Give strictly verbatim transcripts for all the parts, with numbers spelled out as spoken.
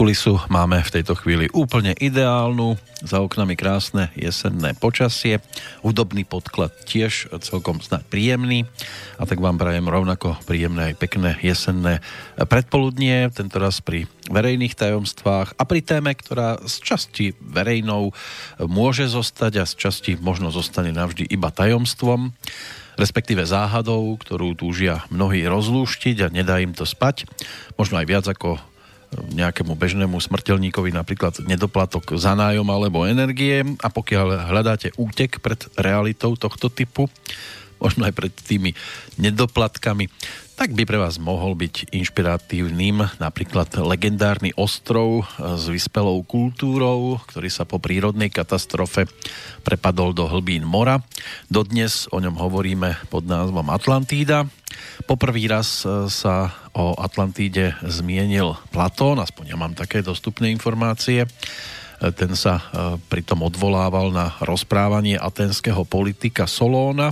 Kulisu máme v tejto chvíli úplne ideálnu, za oknami krásne jesenné počasie, hudobný podklad tiež celkom snad príjemný, a tak vám prajem rovnako príjemné aj pekné jesenné predpoludnie, tentoraz pri verejných tajomstvách a pri téme, ktorá z časti verejnou môže zostať a z časti možno zostane navždy iba tajomstvom, respektíve záhadou, ktorú túžia mnohí rozlúštiť a nedá im to spať, možno aj viac ako nejakému bežnému smrteľníkovi, napríklad nedoplatok za nájom alebo energie, a pokiaľ hľadáte útek pred realitou tohto typu, možno aj pred tými nedoplatkami, tak by pre vás mohol byť inšpiratívnym napríklad legendárny ostrov s vyspelou kultúrou, ktorý sa po prírodnej katastrofe prepadol do hlbín mora. Dodnes o ňom hovoríme pod názvom Atlantída. Poprvý raz sa o Atlantíde zmienil Platón, aspoň ja mám také dostupné informácie. Ten sa pritom odvolával na rozprávanie aténskeho politika Solóna.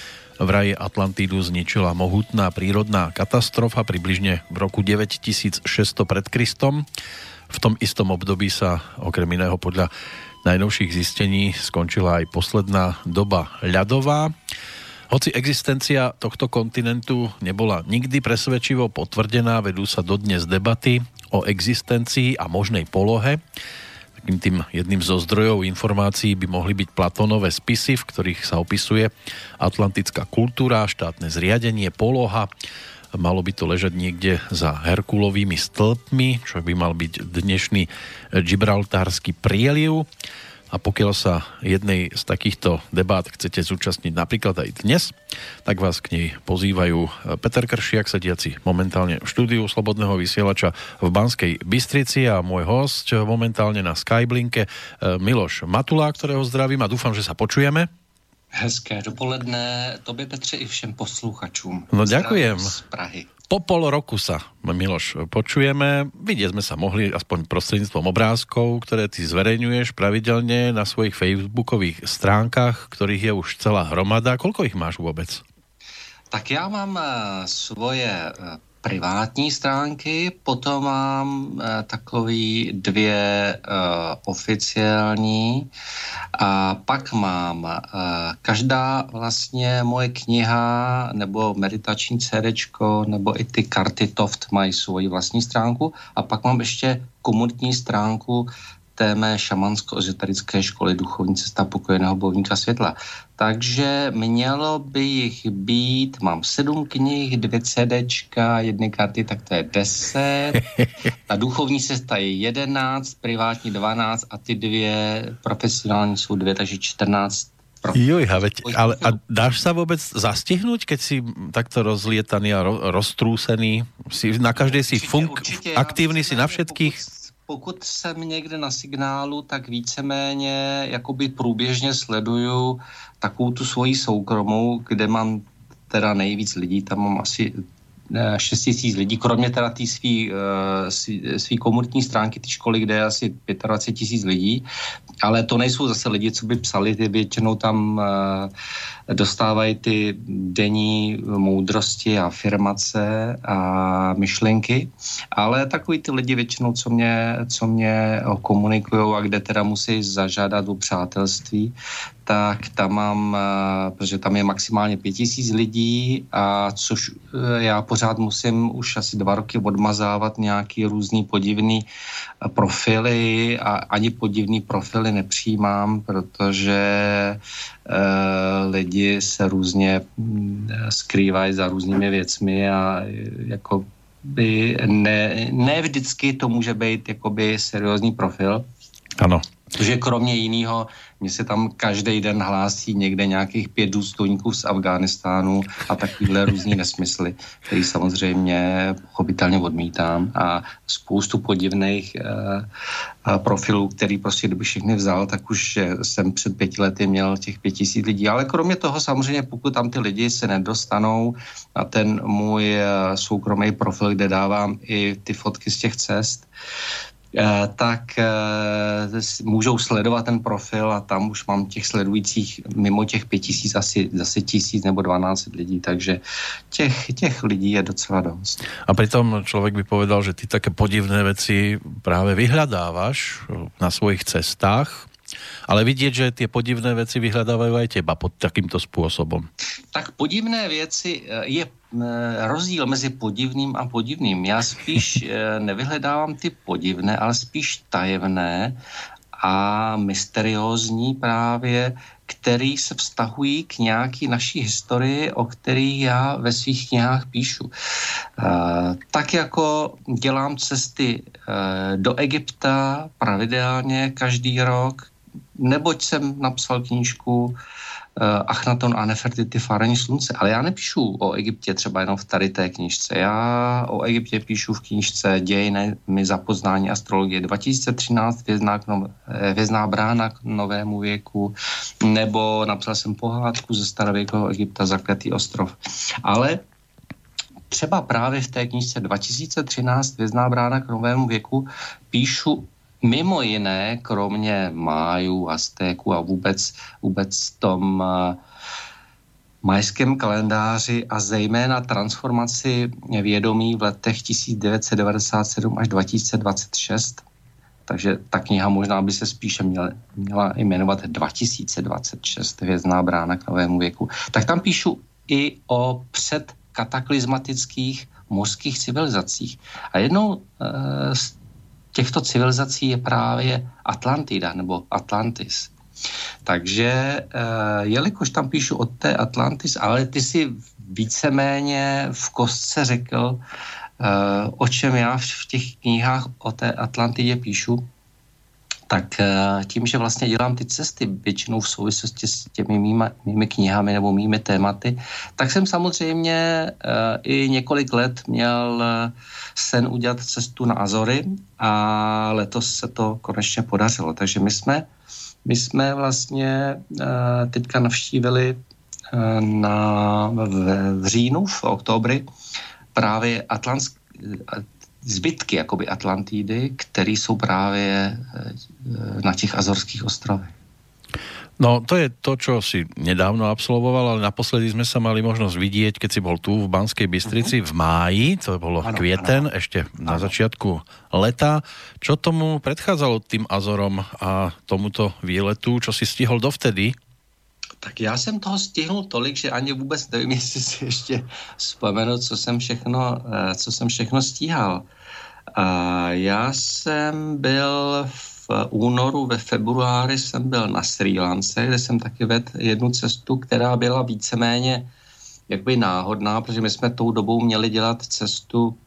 Vraj Atlantídu zničila mohutná prírodná katastrofa približne v roku deväťtisícšesťsto pred Kristom. V tom istom období sa okrem iného podľa najnovších zistení skončila aj posledná doba ľadová. Hoci existencia tohto kontinentu nebola nikdy presvedčivo potvrdená, vedú sa dodnes debaty o existencii a možnej polohe. Takým tým jedným zo zdrojov informácií by mohli byť Platónové spisy, v ktorých sa opisuje atlantická kultúra, štátne zriadenie, poloha. Malo by to ležať niekde za Herkulovými stĺpmi, čo by mal byť dnešný Gibraltársky prieliv. A pokiaľ sa jednej z takýchto debát chcete zúčastniť napríklad aj dnes, tak vás k nej pozývajú Peter Kršiak, sediaci momentálne v štúdiu Slobodného vysielača v Banskej Bystrici, a môj host momentálne na Skyblinke Miloš Matula, ktorého zdravím a dúfam, že sa počujeme. Hezké dopoledne tobě, Petře, i všem posluchačům. No ďakujem. Z Prahy. Po pol roku sa, Miloš, počujeme. Vidieť sme sa mohli aspoň prostredníctvom obrázkov, ktoré ty zverejňuješ pravidelne na svojich facebookových stránkach, ktorých je už celá hromada. Koľko ich máš vôbec? Tak já mám svoje privátní stránky, potom mám eh, takový dvě eh, oficiální, a pak mám eh, každá vlastně moje kniha nebo meditační cédečko nebo i ty karty Toft mají svoji vlastní stránku, a pak mám ještě komunitní stránku té mé šamansko-ezoterické školy Duchovní cesta pokojeného bojovníka světla. Takže mělo by jich být, mám sedm knih, dvě CDčka, jedny karty, tak to je deset. Ta duchovní cesta je jedenáct, privátní dvanáct a ty dvě profesionální jsou dvě, takže čtrnáct. Jojha, veď, ale a dáš sa vôbec zastihnúť, keď si takto rozlietaný a ro, roztrúsený? Si, na každej si určitě, funk, určitě, aktívny si na všetkých? Pokud, pokud jsem někde na signálu, tak víceméně jakoby průběžně sleduju takovou tu svoji soukromou, kde mám teda nejvíc lidí, tam mám asi šest tisíc lidí, kromě teda té svý, svý, svý komunitní stránky, ty školy, kde je asi dvacet pět tisíc lidí, ale to nejsou zase lidi, co by psali, ty většinou tam dostávají ty denní moudrosti a afirmace a myšlenky, ale takový ty lidi většinou, co mě, co mě komunikujou a kde teda musí zažádat o přátelství, tak tam mám, protože tam je maximálně pět tisíc lidí, a což já pořád musím už asi dva roky odmazávat nějaký různý podivný profily, a ani podivný profily nepřijímám, protože uh, lidi se různě skrývají za různými věcmi a jako by ne, ne vždycky to může být jakoby seriózní profil. Ano. Protože kromě jiného, mně se tam každý den hlásí někde nějakých pět důstojníků z Afghánistánu a takovýhle různý nesmysly, který samozřejmě pochopitelně odmítám, a spoustu podivných uh, profilů, který prostě kdyby všechny vzal, tak už jsem před pěti lety měl těch pět tisíc lidí. Ale kromě toho samozřejmě, pokud tam ty lidi se nedostanou na ten můj uh, soukromý profil, kde dávám i ty fotky z těch cest, tak můžou sledovat ten profil a tam už mám těch sledujících mimo těch pět tisíc asi zase tisíc nebo dvanáct lidí, takže těch, těch lidí je docela dost. A pritom človek by povedal, že ty také podivné veci práve vyhľadávaš na svojich cestách, ale vidieť, že tie podivné veci vyhľadávajú aj teba pod takýmto spôsobom. Tak podivné věci je rozdíl mezi podivným a podivným. Já spíš nevyhledávám ty podivné, ale spíš tajemné a mysteriózní právě, který se vztahují k nějaký naší historii, o který já ve svých knihách píšu. Tak jako dělám cesty do Egypta pravidelně každý rok, neboť jsem napsal knížku Achnaton a Nefertiti, Fárení slunce. Ale já nepíšu o Egyptě třeba jenom v tady té knížce. Já o Egyptě píšu v knížce Dějiny za poznání astrologie dva tisíce třináct, Hvězdná, hvězdná brána k novému věku, nebo napsal jsem pohádku ze starověkého Egypta Zakletý ostrov. Ale třeba právě v té knížce dva tisíce třináct Hvězdná brána k novému věku píšu mimo jiné, kromě Májů, Aztéků a vůbec, vůbec tom uh, majském kalendáři a zejména transformaci vědomí v letech tisíc devět set devadesát sedm až dva tisíce dvacet šest. Takže ta kniha možná by se spíše měla, měla jmenovat dva tisíce dvacet šest, Hvězdná brána k novému věku. Tak tam píšu i o předkataklizmatických mořských civilizacích. A jednou uh, z těchto civilizací je právě Atlantida nebo Atlantis. Takže jelikož tam píšu o té Atlantis, ale ty si víceméně v kostce řekl, o čem já v těch knihách o té Atlantidě píšu, tak tím, že vlastně dělám ty cesty většinou v souvislosti s těmi mými, mými knihami nebo mými tématy, tak jsem samozřejmě i několik let měl sen udělat cestu na Azory a letos se to konečně podařilo. Takže my jsme, my jsme vlastně teďka navštívili na, v, v říjnu, v oktobri právě Atlantsk, zbytky jakoby Atlantidy, které jsou právě na těch Azorských ostrovech. No, to je to, čo si nedávno absolvoval, ale naposledy sme sa mali možnosť vidieť, keď si bol tu v Banskej Bystrici v máji, to bolo ano, kvieten, ano. Ešte na ano. Začiatku leta. Čo tomu predchádzalo tým Azorom a tomuto výletu? Čo si stihol dovtedy? Tak já jsem toho stihnul tolik, že ani vůbec nevím, jestli si ještě vzpomenu, co jsem všechno, co jsem všechno stíhal. Já jsem byl v únoru, ve februári jsem byl na Srí Lance, kde jsem taky vedl jednu cestu, která byla víceméně jakoby náhodná, protože my jsme tou dobou měli dělat cestu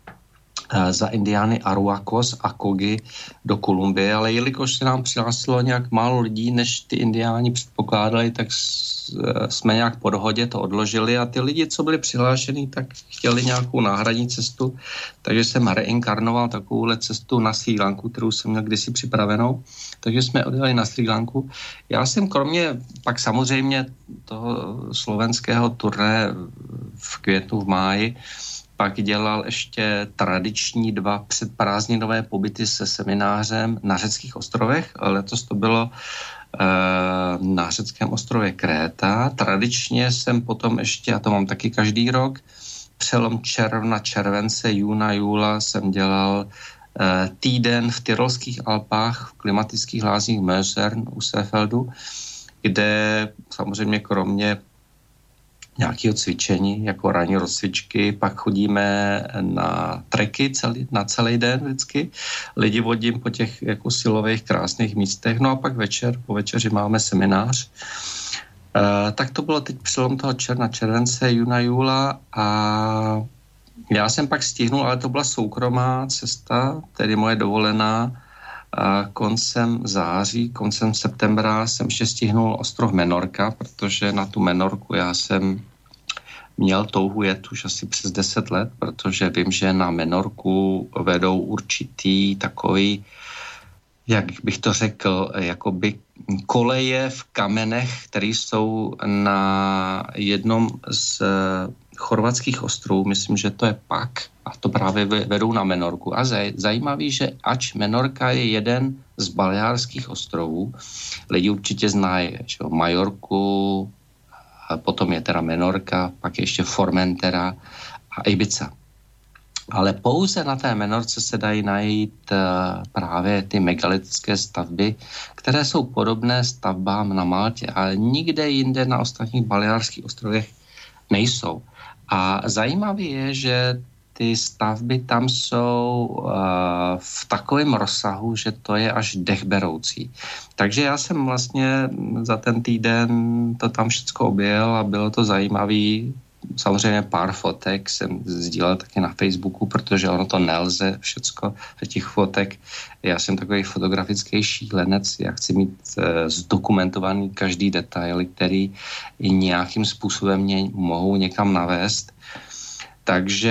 za indiány Aruacos a Kogi do Kolumbie, ale jelikož se nám přihlásilo nějak málo lidí, než ty indiáni předpokládali, tak jsme nějak po dohodě to odložili a ty lidi, co byli přihlášení, tak chtěli nějakou náhradní cestu, takže jsem reinkarnoval takovouhle cestu na Srí Lanku, kterou jsem měl kdysi připravenou, takže jsme odjeli na Srí Lanku. Já jsem kromě pak samozřejmě toho slovenského turné v květnu, v máji, pak dělal ještě tradiční dva předprázdninové pobyty se seminářem na řeckých ostrovech. Letos to bylo e, na řeckém ostrově Kréta. Tradičně jsem potom ještě, a to mám taky každý rok, přelom června, července, júna, júla jsem dělal e, týden v Tyrolských Alpách, v klimatických lázních Mösern u Seefeldu, kde samozřejmě kromě nějakého cvičení, jako ranní rozcvičky, pak chodíme na treky celý, na celý den vždycky. Lidi vodím po těch jako silových krásných místech, no a pak večer, po večeři máme seminář. E, tak to bylo teď přelom toho června, července, júna, júla a já jsem pak stihnul, ale to byla soukromá cesta, tedy moje dovolená. A koncem září, koncem septembra jsem ještě stihnul ostrov Menorka, protože na tu Menorku já jsem měl touhu jet už asi přes deset let, protože vím, že na Menorku vedou určitý takový, jak bych to řekl, jakoby koleje v kamenech, které jsou na jednom z chorvatských ostrovů, myslím, že to je Pak, a to právě vedou na Menorku. A zajímavý, že ač Menorka je jeden z Baleárských ostrovů, lidi určitě znají že, Majorku, a potom je teda Menorka, pak je ještě Formentera a Ibiza. Ale pouze na té Menorce se dají najít právě ty megalitické stavby, které jsou podobné stavbám na Maltě, ale nikde jinde na ostatních Baleárských ostrovech nejsou. A zajímavé je, že ty stavby tam jsou uh, v takovém rozsahu, že to je až dechberoucí. Takže já jsem vlastně za ten týden to tam všechno objel a bylo to zajímavý. Samozřejmě pár fotek jsem sdílel taky na Facebooku, protože ono to nelze všecko těch fotek. Já jsem takový fotografický šílenec, já chci mít e, zdokumentovaný každý detail, který nějakým způsobem mě mohou někam navést. Takže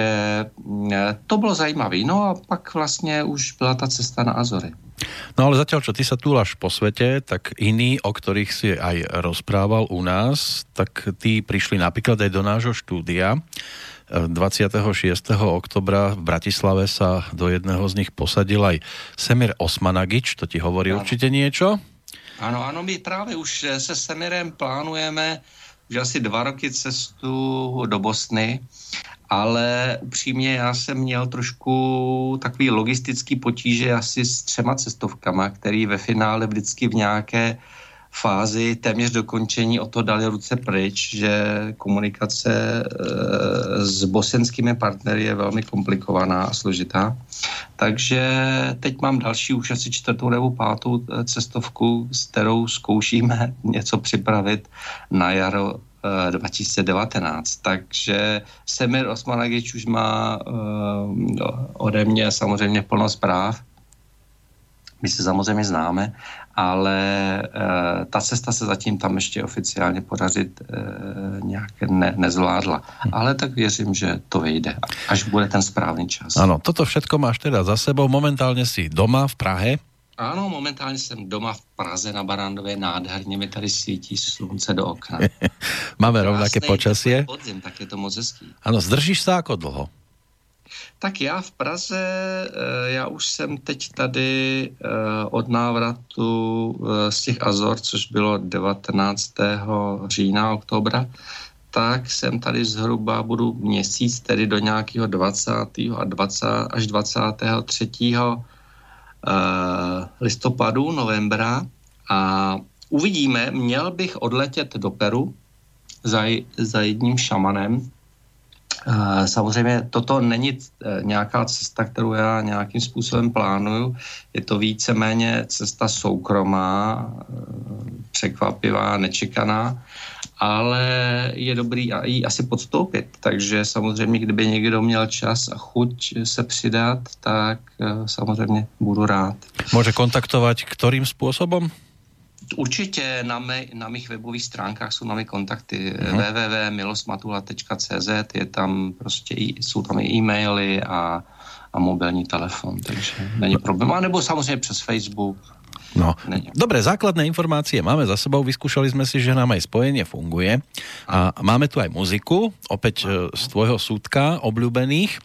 e, to bylo zajímavé. No a pak vlastně už byla ta cesta na Azory. No ale zatiaľ, čo ty sa túlaš po svete, tak iní, o ktorých si aj rozprával u nás, tak tí prišli napríklad aj do nášho štúdia. dvadsiateho šiesteho oktobra v Bratislave sa do jedného z nich posadil aj Semir Osmanagič, to ti hovorí ano. Určite niečo? Áno, áno, my práve už se Semirem plánujeme už asi dva roky cestu do Bosny, ale upřímně já jsem měl trošku takový logistický potíže asi s třema cestovkama, který ve finále vždycky v nějaké fázi téměř dokončení o to dali ruce pryč, že komunikace e, s bosenskými partnery je velmi komplikovaná a složitá. Takže teď mám další už asi čtvrtou nebo pátou cestovku, s kterou zkoušíme něco připravit na jaro dva tisíce devatenáct. Takže Semir Osmanagič už má uh, ode mě samozřejmě plno zpráv. My se samozřejmě známe, ale uh, ta cesta se zatím tam ještě oficiálně podařit uh, nějak ne, nezvládla. Ale tak věřím, že to vyjde, až bude ten správný čas. Ano, toto všetko máš teda za sebou. Momentálně si doma v Prahe. Ano, momentálně jsem doma v Praze na Barandově, nádherně mi tady svítí slunce do okna. Máme rovnaké počasie. Podzim, tak je to moc hezký. Ano, zdržíš se jako dlho? Tak já v Praze, já už jsem teď tady od návratu z těch Azor, což bylo devatenáctého října, oktobra, tak jsem tady zhruba budu měsíc, tedy do nějakého dvacátého a dvacátého až dvacátého třetího listopadu, novembra a uvidíme, měl bych odletět do Peru za, za jedním šamanem. Samozřejmě toto není nějaká cesta, kterou já nějakým způsobem plánuju. Je to víceméně cesta soukromá, překvapivá, nečekaná, ale je dobrý ji asi podstoupit. Takže samozřejmě, kdyby někdo měl čas a chuť se přidat, tak samozřejmě budu rád. Může kontaktovat kterým způsobem? Určitě na, mé, na mých webových stránkách jsou na mé kontakty mm-hmm. w w w tečka milosmatula tečka c z, je tam prostě, jsou tam i e-maily a, a mobilní telefon, takže není problém. A nebo samozřejmě přes Facebook. No, dobre, základné informácie máme za sebou, vyskúšali sme si, že nám aj spojenie funguje a máme tu aj muziku, opäť z tvojho súdka obľúbených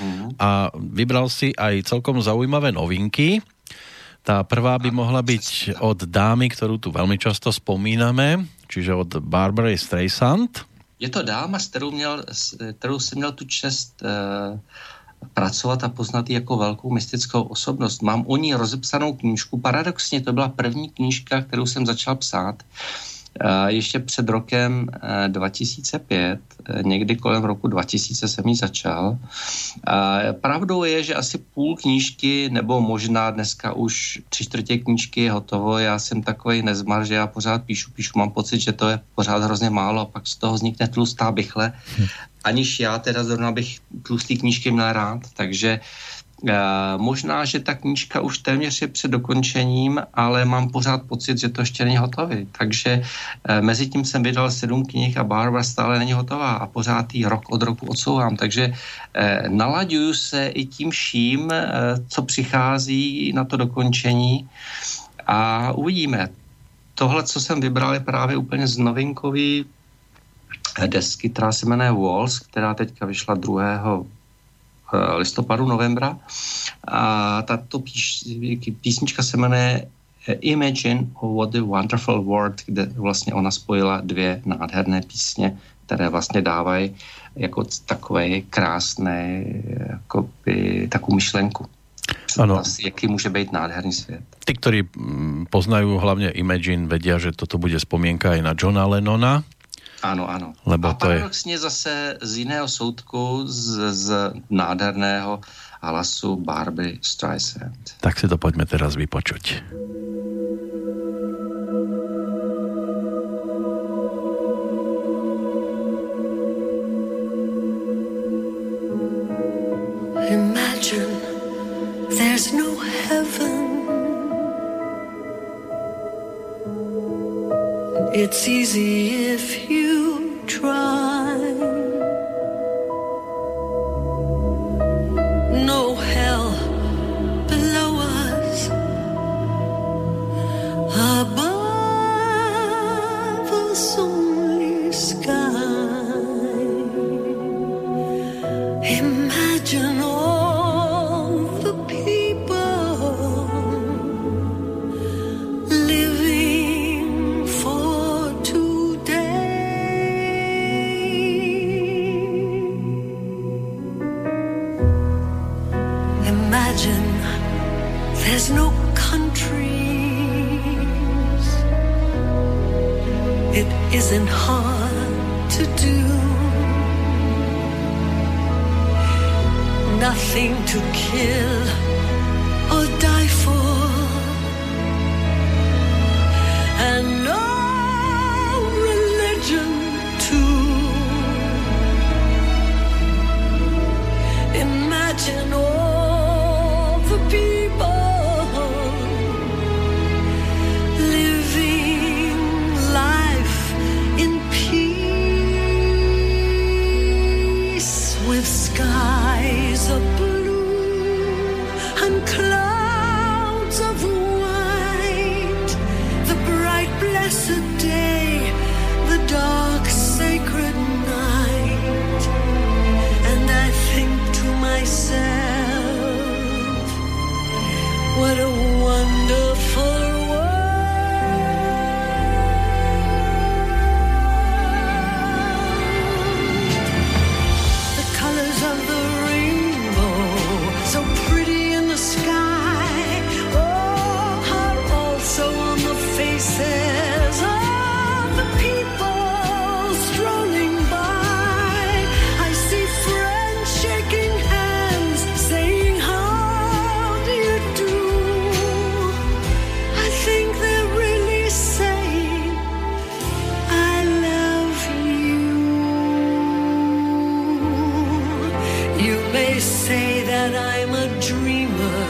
a vybral si aj celkom zaujímavé novinky. Tá prvá by mohla byť od dámy, ktorú tu veľmi často spomíname, čiže od Barbary Streisand. Je to dáma, s kterou, měl, s kterou jsem měl tu čest uh... pracovat a poznat ji jako velkou mystickou osobnost. Mám o ní rozepsanou knížku. Paradoxně to byla první knížka, kterou jsem začal psát ještě před rokem dva tisíce pět, někdy kolem roku dva tisíce jsem ji začal. Pravdou je, že asi půl knížky, nebo možná dneska už tři čtvrtě knížky je hotovo. Já jsem takovej nezmar, že já pořád píšu, píšu, mám pocit, že to je pořád hrozně málo a pak z toho vznikne tlustá bychle. Aniž já teda zrovna bych tlustý knížky měl rád, takže e, možná, že ta knížka už téměř je před dokončením, ale mám pořád pocit, že to ještě není hotový. Takže e, mezi tím jsem vydal sedm knih a Barbara stále není hotová a pořád ji rok od roku odsouvám. Takže e, nalaďuju se i tím vším, e, co přichází na to dokončení a uvidíme. Tohle, co jsem vybral, je právě úplně z novinkový desky, která se jmenuje Walls, která teďka vyšla druhého listopadu, novembra. A tato píš, písnička se jmenuje Imagine What a Wonderful World, kde vlastně ona spojila dvě nádherné písně, které vlastně dávají jako takové krásné jakoby, takovou myšlenku. Ano. Jaký může být nádherný svět. Tí, ktorí poznajú hlavne Imagine, vedia, že toto bude spomienka aj na Johna Lennona. Áno, áno. Lebo a paradoxne je... zase z iného soudku, z, z nádherného hlasu Barbry Streisand. Tak si to poďme teraz vypočuť. Imagine there's no heaven. It's easy if you try. No hell below us, above us only sky. Imagine all the people there's no countries. It isn't hard to do. Nothing to kill or die for. And no religion too. Imagine all the people skies of blue and clouds of white, the bright blessed day, the dark sacred night. And I think to myself, what a wonderful faces of the people strolling by. I see friends shaking hands, saying, how do you do? I think they're really saying, I love you. You may say that I'm a dreamer,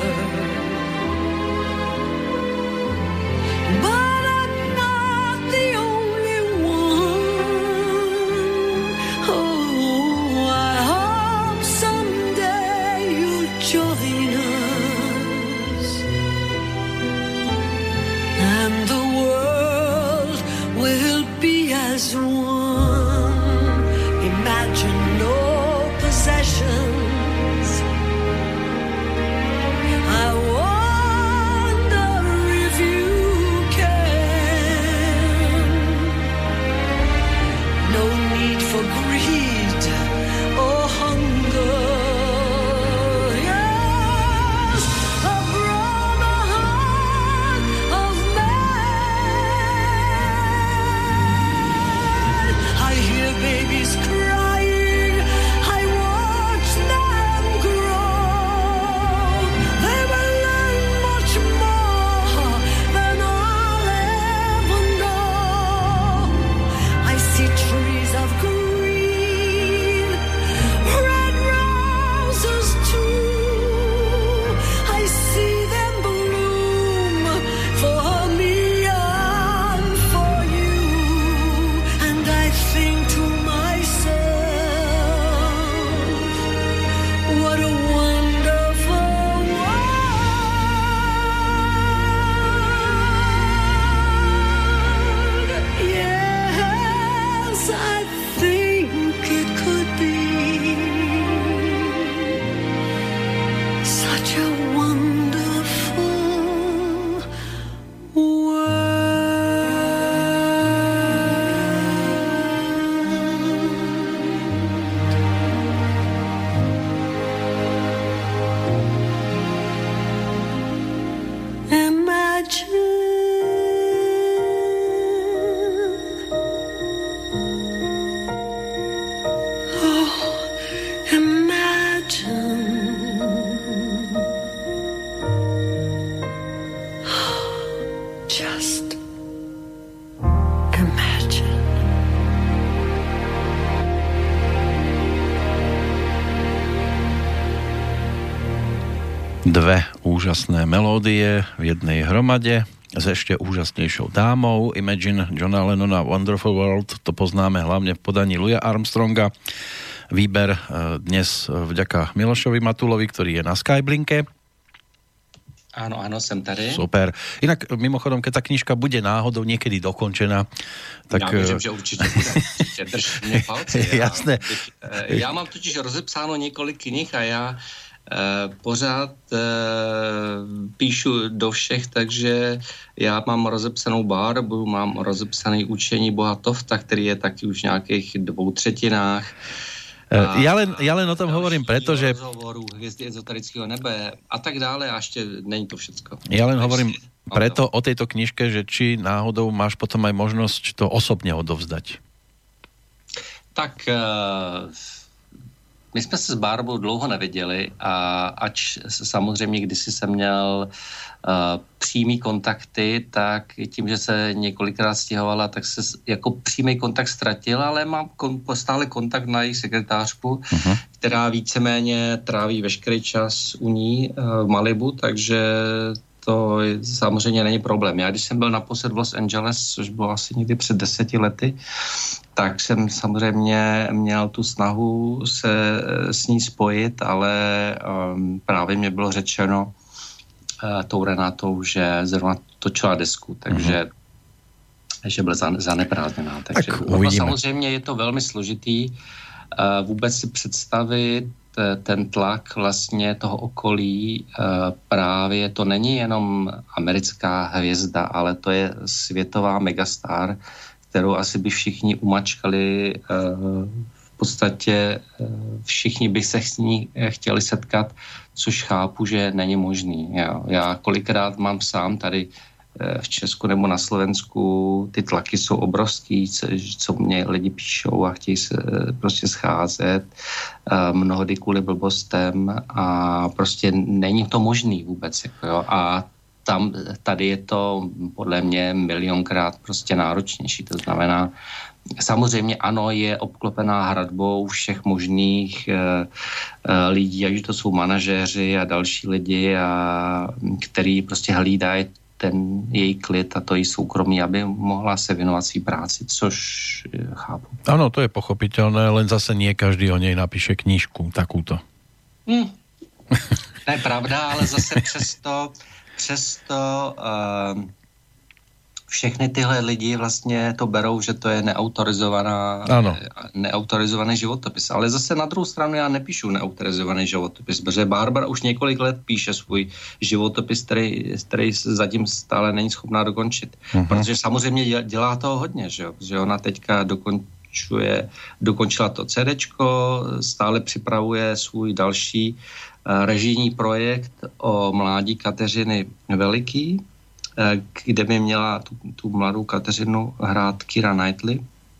but as one. Imagine no possessions. I wonder if you can. No need for greed or hunger. Yes, a broader heart of man. I hear babies crying, I watch them grow. They will learn much more than I'll ever know. I see trees of green, red roses too. I see them bloom for me and for you. And I think to myself, what a wonderful world. Yes, I think Dve úžasné melódie v jednej hromade s ešte úžasnejšou dámou. Imagine Johna Lennona Wonderful World, to poznáme hlavne v podaní Louisa Armstronga. Výber dnes vďaka Milošovi Matulovi, ktorý je na Skyblinke. Áno, áno, som tady. Super. Inak mimochodom, keď tá knižka bude náhodou niekedy dokončená, tak... Já věřím, že určitě bude. Určitě. Drž mě palce. Jasné. Já, já mám totiž rozepsáno několik knih a já Uh, pořád uh, píšu do všech, takže já mám rozepsanou Bárbu, mám rozepsaný Učení boha Tofta, který je taky už v nějakých dvou třetinách. Uh, ja, len, ja len o tom hovorím, pretože... Rozhovorů, Hvězdy ezoterického nebe a tak dále a ještě není to všecko. Ja len hovorím preto o tejto knižke, že či náhodou máš potom aj možnosť to osobne odovzdať. Tak... Uh, My jsme se s Bárbou dlouho neviděli a ač samozřejmě kdysi jsem měl uh, přímý kontakty, tak tím, že se několikrát stěhovala, tak se jako přímý kontakt ztratil, ale mám kon, stále kontakt na její sekretářku, uh-huh. která víceméně tráví veškerý čas u ní uh, v Malibu, takže to samozřejmě není problém. Já když jsem byl naposled v Los Angeles, což bylo asi někdy před deseti lety, tak jsem samozřejmě měl tu snahu se s ní spojit, ale um, právě mě bylo řečeno uh, tou Renátou, že zrovna točila desku, takže mm-hmm. že byla zaneprázdněná. Takže tak no, samozřejmě je to velmi složitý uh, vůbec si představit ten tlak vlastně toho okolí. Uh, právě to není jenom americká hvězda, ale to je světová megastar, kterou asi by všichni umačkali. V podstatě všichni by se s ní chtěli setkat, což chápu, že není možný. Já, já kolikrát mám sám tady v Česku nebo na Slovensku, ty tlaky jsou obrovský, co mě lidi píšou a chtějí se prostě scházet, mnohdy kvůli blbostem a prostě není to možný vůbec. Jako jo. A tam, tady je to podle mě milionkrát prostě náročnější. To znamená, samozřejmě ano, je obklopená hradbou všech možných e, e, lidí, ať to jsou manažéři a další lidi, a, který prostě hlídají ten její klid a to její soukromí, aby mohla se věnovat svý práci, což chápu. Ano, to je pochopitelné, len zase nie každý o něj napíše knížku takúto. Hmm. Ne, pravda, ale zase přesto Přesto uh, všechny tyhle lidi vlastně to berou, že to je neautorizovaná, neautorizovaný životopis. Ale zase na druhou stranu já nepíšu neautorizovaný životopis, protože Barbara už několik let píše svůj životopis, který, který zatím stále není schopná dokončit. Uh-huh. Protože samozřejmě dělá toho hodně, že, že ona teďka dokončuje, dokončila to CDčko, stále připravuje svůj další režijní projekt o mládí Kateřiny Veliký, kde by měla tu, tu mladou Kateřinu hrát Keira Knightley.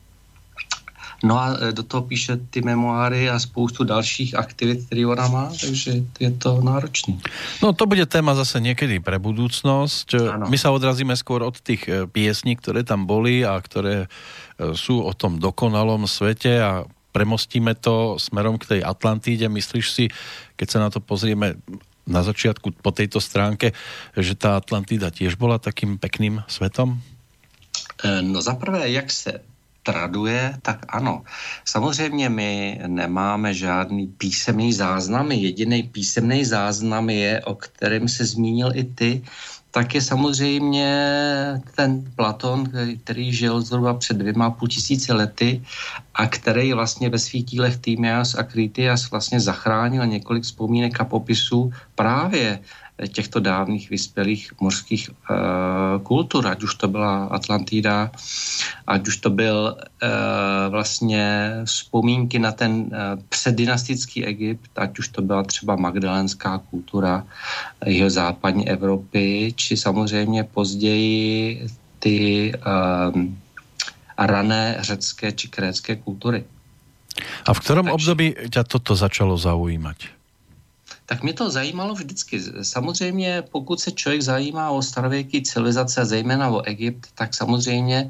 No a do toho píše ty memoáry a spoustu dalších aktivit, které ona má, takže je to náročný. No to bude téma zase niekedy pre budúcnosť. Ano. My sa odrazíme skôr od tých piesní, ktoré tam boli a ktoré sú o tom dokonalom svete a premostíme to smerom k tej Atlantíde. Myslíš si, keď sa na to pozrieme na začiatku po tejto stránke, že tá Atlantída tiež bola takým pekným svetom? No zaprvé, jak se traduje, tak ano. Samozřejmě my nemáme žádný písemný záznam. Jediný písemný záznam je, o kterém se zmínil i ty, tak je samozřejmě ten Platon, který žil zhruba před dvěma půl tisíce lety a který vlastně ve svých dílech Týmias a Kritias vlastně zachránil několik vzpomínek a popisů právě těchto dávných vyspělých mořských uh, kultur, ať už to byla Atlantida, ať už to byl uh, vlastně vzpomínky na ten uh, předdynastický Egypt, ať už to byla třeba magdalenská kultura jeho západní Evropy, či samozřejmě později ty uh, rané řecké či krécké kultury. A v ktorom Takže... období ťa toto začalo zaujímať? Tak mě to zajímalo vždycky. Samozřejmě, pokud se člověk zajímá o starověké civilizace, zejména o Egypt, tak samozřejmě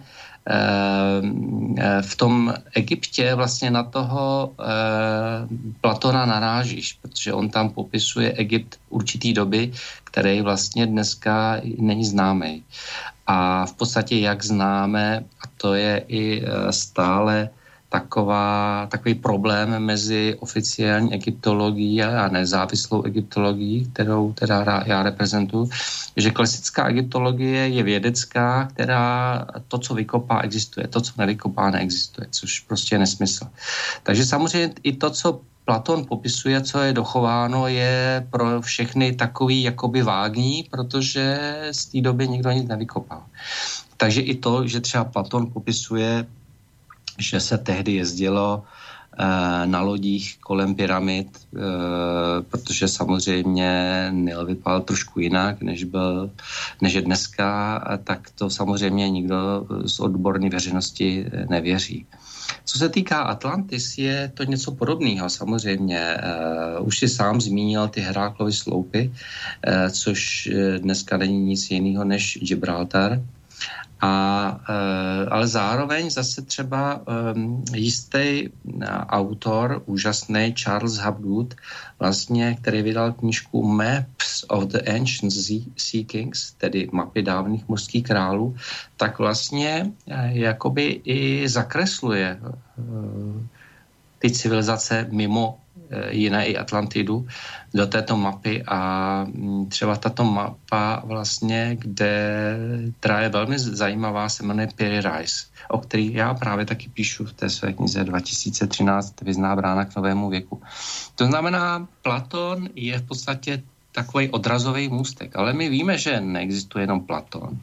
v tom Egyptě vlastně na toho Platona narážíš, protože on tam popisuje Egypt určitý doby, který vlastně dneska není známý. A v podstatě, jak známe, a to je i stále taková, takový problém mezi oficiální egyptologií a nezávislou egyptologií, kterou teda já reprezentuji, že klasická egyptologie je vědecká, která to, co vykopá, existuje. To, co nevykopá, neexistuje, což prostě je nesmysl. Takže samozřejmě i to, co Platon popisuje, co je dochováno, je pro všechny takový jakoby vágní, protože z té doby nikdo nic nevykopal. Takže i to, že třeba Platon popisuje, že se tehdy jezdilo e, na lodích kolem pyramid, e, protože samozřejmě Nil vypadal trošku jinak, než, byl, než je dneska, tak to samozřejmě nikdo z odborné veřejnosti nevěří. Co se týká Atlantis, je to něco podobného samozřejmě. Uh, už si sám zmínil ty Heraklovy sloupy, uh, což dneska není nic jiného než Gibraltar. A, uh, ale zároveň zase třeba um, jistý uh, autor, úžasný Charles Hapgood, vlastně, který vydal knížku Maps of the Ancient Sea Kings, tedy mapy dávných mořských králů, tak vlastně uh, jakoby i zakresluje uh, ty civilizace mimo jiné i Atlantidu do této mapy a třeba tato mapa vlastně, kde, která je velmi zajímavá, se jmenuje Piri Reis, o který já právě taky píšu v té své knize dva tisíce třináct Vězná brána k novému věku. To znamená, Platon je v podstatě takový odrazový můstek, ale my víme, že neexistuje jenom Platon.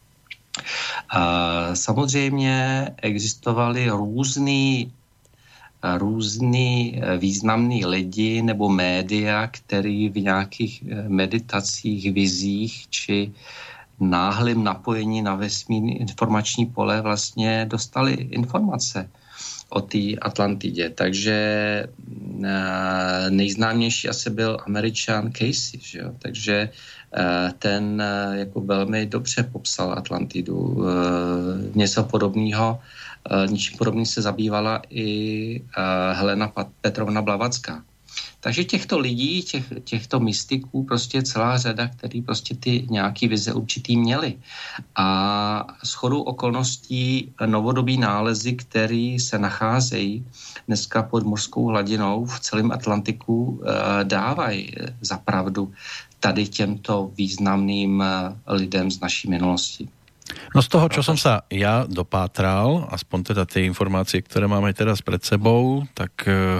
A samozřejmě existovaly různý různý významný lidi nebo média, který v nějakých meditacích, vizích či náhlým napojení na vesmírný informační pole vlastně dostali informace o té Atlantidě. Takže nejznámější asi byl Američan Casey, že jo? Takže ten jako velmi dobře popsal Atlantidu. Něco podobného Ničím podobným se zabývala i Helena Petrovna Blavacká. Takže těchto lidí, těch, těchto mystiků prostě celá řada, který prostě ty nějaký vize určitý měli. A shodou okolností novodobí nálezy, které se nacházejí dneska pod mořskou hladinou v celém Atlantiku, dávají za pravdu tady těmto významným lidem z naší minulosti. No z toho, čo som sa ja dopátral, aspoň teda tie informácie, ktoré máme teraz pred sebou, tak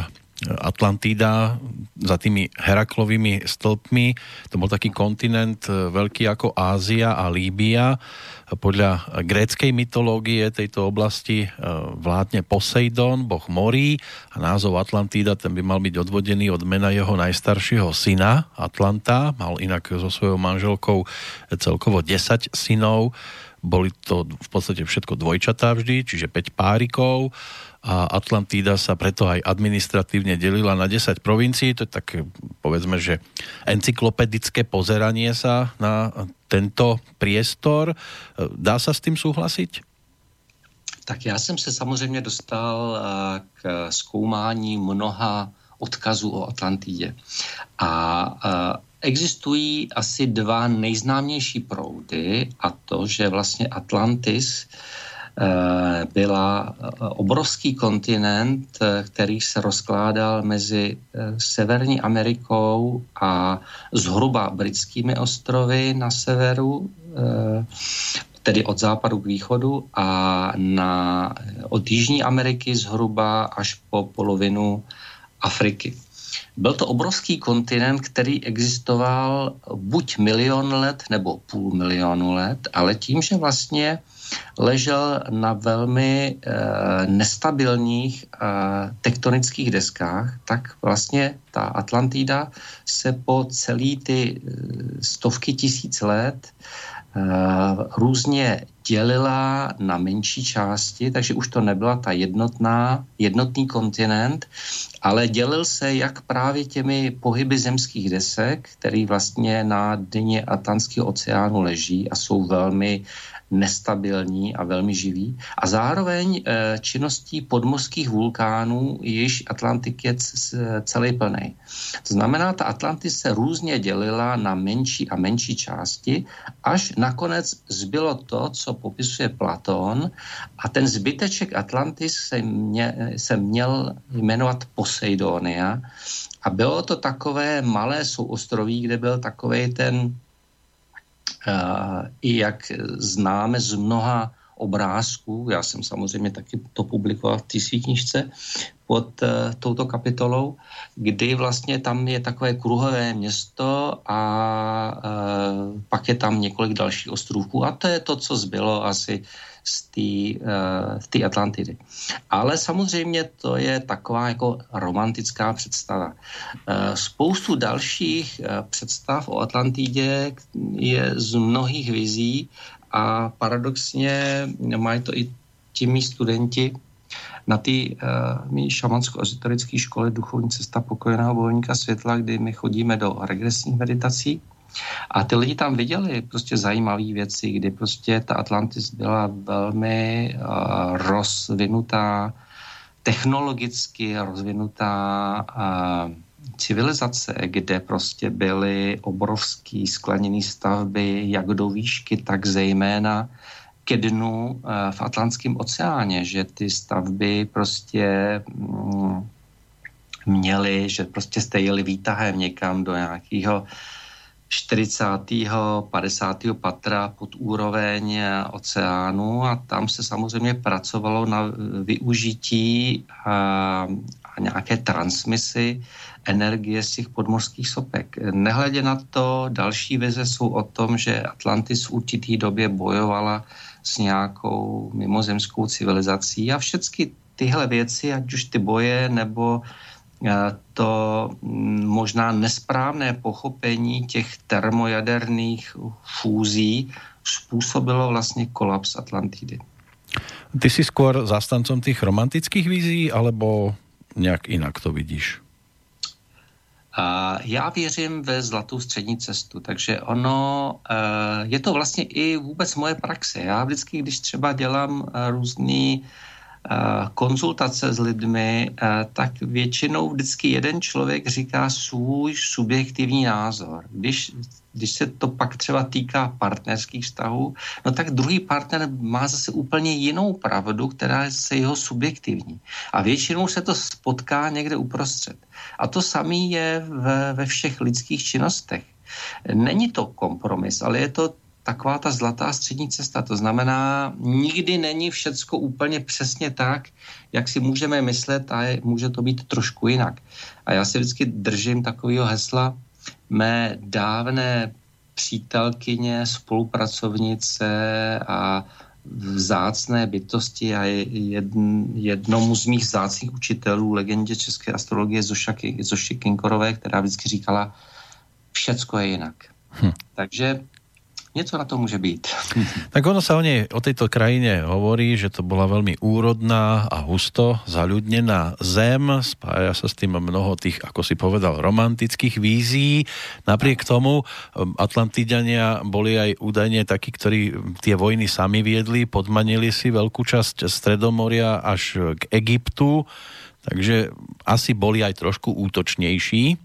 Atlantída za tými Heraklovými stĺpmi, to bol taký kontinent veľký ako Ázia a Líbia. Podľa gréckej mytológie tejto oblasti vládne Poseidon, boh morí, a názov Atlantída, ten by mal byť odvodený od mena jeho najstaršieho syna Atlanta. Mal inak so svojou manželkou celkovo desať synov. Boli to v podstate všetko dvojčatá vždy, čiže päť párikov, a Atlantída sa preto aj administratívne delila na desať provincií. To je tak, povedzme, že encyklopedické pozeranie sa na tento priestor. Dá sa s tým súhlasiť? Tak já jsem se samozřejmě dostal k zkoumání mnoha odkazů o Atlantidě. A existují asi dva nejznámější proudy, a to, že vlastně Atlantis byla obrovský kontinent, který se rozkládal mezi Severní Amerikou a zhruba britskými ostrovy na severu, tedy od západu k východu, a na, od Jižní Ameriky zhruba až po polovinu Afriky. Byl to obrovský kontinent, který existoval buď milion let nebo půl milionu let, ale tím, že vlastně ležel na velmi e, nestabilních e, tektonických deskách, tak vlastně ta Atlantida se po celý ty e, stovky tisíc let e, různě dělila na menší části, takže už to nebyla ta jednotná, jednotný kontinent, ale dělil se jak právě těmi pohyby zemských desek, který vlastně na dně Atlantského oceánu leží a jsou velmi nestabilní a velmi živí. A zároveň činností podmořských vulkánů, jež Atlantik je celý plný. To znamená, ta Atlantis se různě dělila na menší a menší části, až nakonec zbylo to, co popisuje Platón, a ten zbyteček Atlantis se, mě, se měl jmenovat Poseidonia a bylo to takové malé souostroví, kde byl takovej ten Uh, i jak známe z mnoha obrázků, já jsem samozřejmě taky to publikoval v té své knižce pod uh, touto kapitolou, kdy vlastně tam je takové kruhové město a uh, pak je tam několik dalších ostrůvků a to je to, co zbylo asi z té uh, z té Atlantidy. Ale samozřejmě to je taková jako romantická představa. Uh, spoustu dalších uh, představ o Atlantidě je z mnohých vizí a paradoxně mají to i ti mý studenti na té uh, mý šamansko-ezoterické škole Duchovní cesta pokojeného bojovníka světla, kdy my chodíme do regresních meditací. A ty lidi tam viděli prostě zajímavé věci, kdy prostě ta Atlantis byla velmi uh, rozvinutá, technologicky rozvinutá uh, civilizace, kde prostě byly obrovský skleněné stavby, jak do výšky, tak zejména ke dnu uh, v Atlantském oceáně, že ty stavby prostě mm, měly, že prostě jste jeli výtahem někam do nějakého čtyřicátého padesátého patra pod úroveň oceánu a tam se samozřejmě pracovalo na využití a, a nějaké transmisy energie z těch podmořských sopek. Nehledě na to, další vize jsou o tom, že Atlantis v určitý době bojovala s nějakou mimozemskou civilizací a všechny tyhle věci, ať už ty boje nebo to možná nesprávné pochopení těch termojaderných fúzí způsobilo vlastně kolaps Atlantidy. Ty si skôr zástancom tých romantických vízí, alebo nějak jinak to vidíš? A já věřím ve zlatou střední cestu, takže ono, je to vlastně i vůbec moje praxe. Já vždycky, když třeba dělám různý konzultace s lidmi, tak většinou vždycky jeden člověk říká svůj subjektivní názor. Když, když se to pak třeba týká partnerských vztahů, no tak druhý partner má zase úplně jinou pravdu, která je se jeho subjektivní. A většinou se to spotká někde uprostřed. A to samé je ve, ve všech lidských činnostech. Není to kompromis, ale je to taková ta zlatá střední cesta. To znamená, nikdy není všecko úplně přesně tak, jak si můžeme myslet a je, může to být trošku jinak. A já si vždycky držím takového hesla mé dávné přítelkyně, spolupracovnice a vzácné bytosti a jedn, jednomu z mých vzácných učitelů, legendě české astrologie Zoši Kinkorové, která vždycky říkala, všecko je jinak. Hm. Takže něco na to môže byť. Tak ono sa o nej, o tejto krajine hovorí, že to bola veľmi úrodná a husto zaľudnená zem. Spája sa s tým mnoho tých, ako si povedal, romantických vízií. Napriek tomu Atlantidania boli aj údajne takí, ktorí tie vojny sami viedli, podmanili si veľkú časť Stredomoria až k Egyptu, takže asi boli aj trošku útočnejší.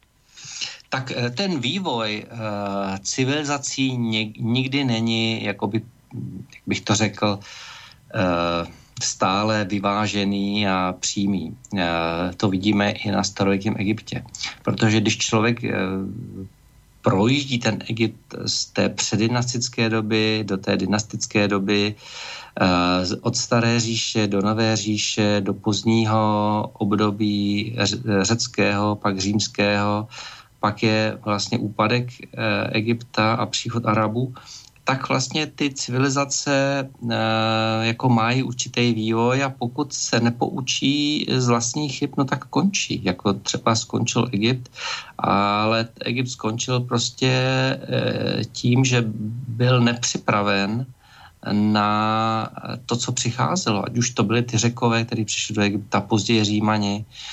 Tak ten vývoj uh, civilizací nikdy není, jakoby, jak bych to řekl, uh, stále vyvážený a přímý. Uh, to vidíme i na starověkém Egyptě. Protože když člověk uh, projíždí ten Egypt z té předdynastické doby do té dynastické doby, uh, od staré říše do nové říše, do pozdního období řeckého, pak římského, pak je vlastně úpadek e, Egypta a příchod Arabů, tak vlastně ty civilizace e, jako mají určitý vývoj a pokud se nepoučí z vlastních chyb, no tak končí. Jako třeba skončil Egypt, ale Egypt skončil prostě e, tím, že byl nepřipraven na to, co přicházelo. Ať už to byly ty Řekové, kteří přišli do Egypta, později Římani,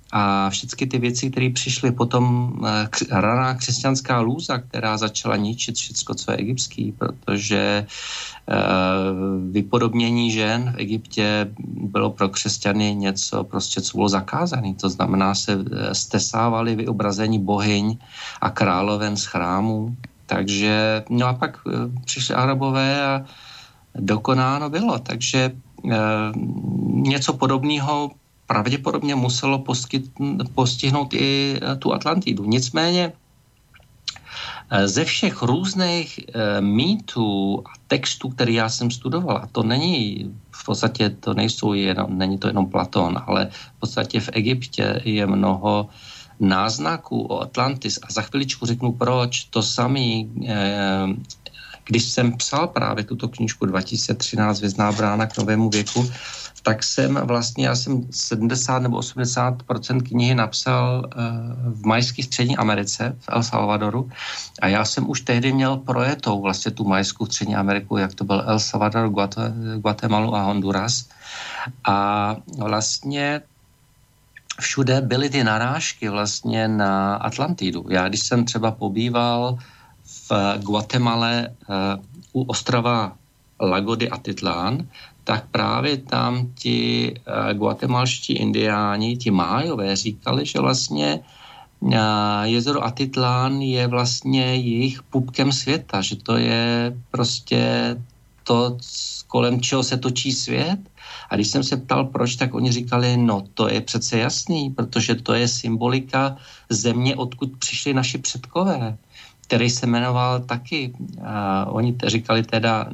A všechny ty věci, které přišly potom, raná křesťanská lůza, která začala ničit všechno, co je egyptský, protože vypodobnění žen v Egyptě bylo pro křesťany něco, prostě, co bylo zakázané. To znamená, se stesávali vyobrazení bohyň a královen z chrámů. Takže, no a pak přišli Arabové a dokonáno bylo. Takže něco podobného pravděpodobně muselo postihnout i tu Atlantidu. Nicméně ze všech různých mýtů a textů, které já jsem studoval, a to není v podstatě, to nejsou jenom, není to jenom Platón, ale v podstatě v Egyptě je mnoho náznaků o Atlantis a za chviličku řeknu proč. To samý, když jsem psal právě tuto knížku dva tisíce třináct Vězná brána k novému věku, tak jsem vlastně, já jsem sedmdesát nebo osmdesát procent knihy napsal v majské střední Americe, v El Salvadoru, a já jsem už tehdy měl projetou vlastně tu majskou střední Ameriku, jak to byl El Salvador, Guatemalu a Honduras. A vlastně všude byly ty narážky vlastně na Atlantidu. Já když jsem třeba pobýval v Guatemale u ostrova Lago de Atitlán, tak právě tam ti guatemalští indiáni, ti májové, říkali, že vlastně jezero Atitlán je vlastně jejich pupkem světa, že to je prostě to, kolem čeho se točí svět. A když jsem se ptal, proč, tak oni říkali, no to je přece jasný, protože to je symbolika země, odkud přišli naši předkové, který se jmenoval taky, a oni te říkali teda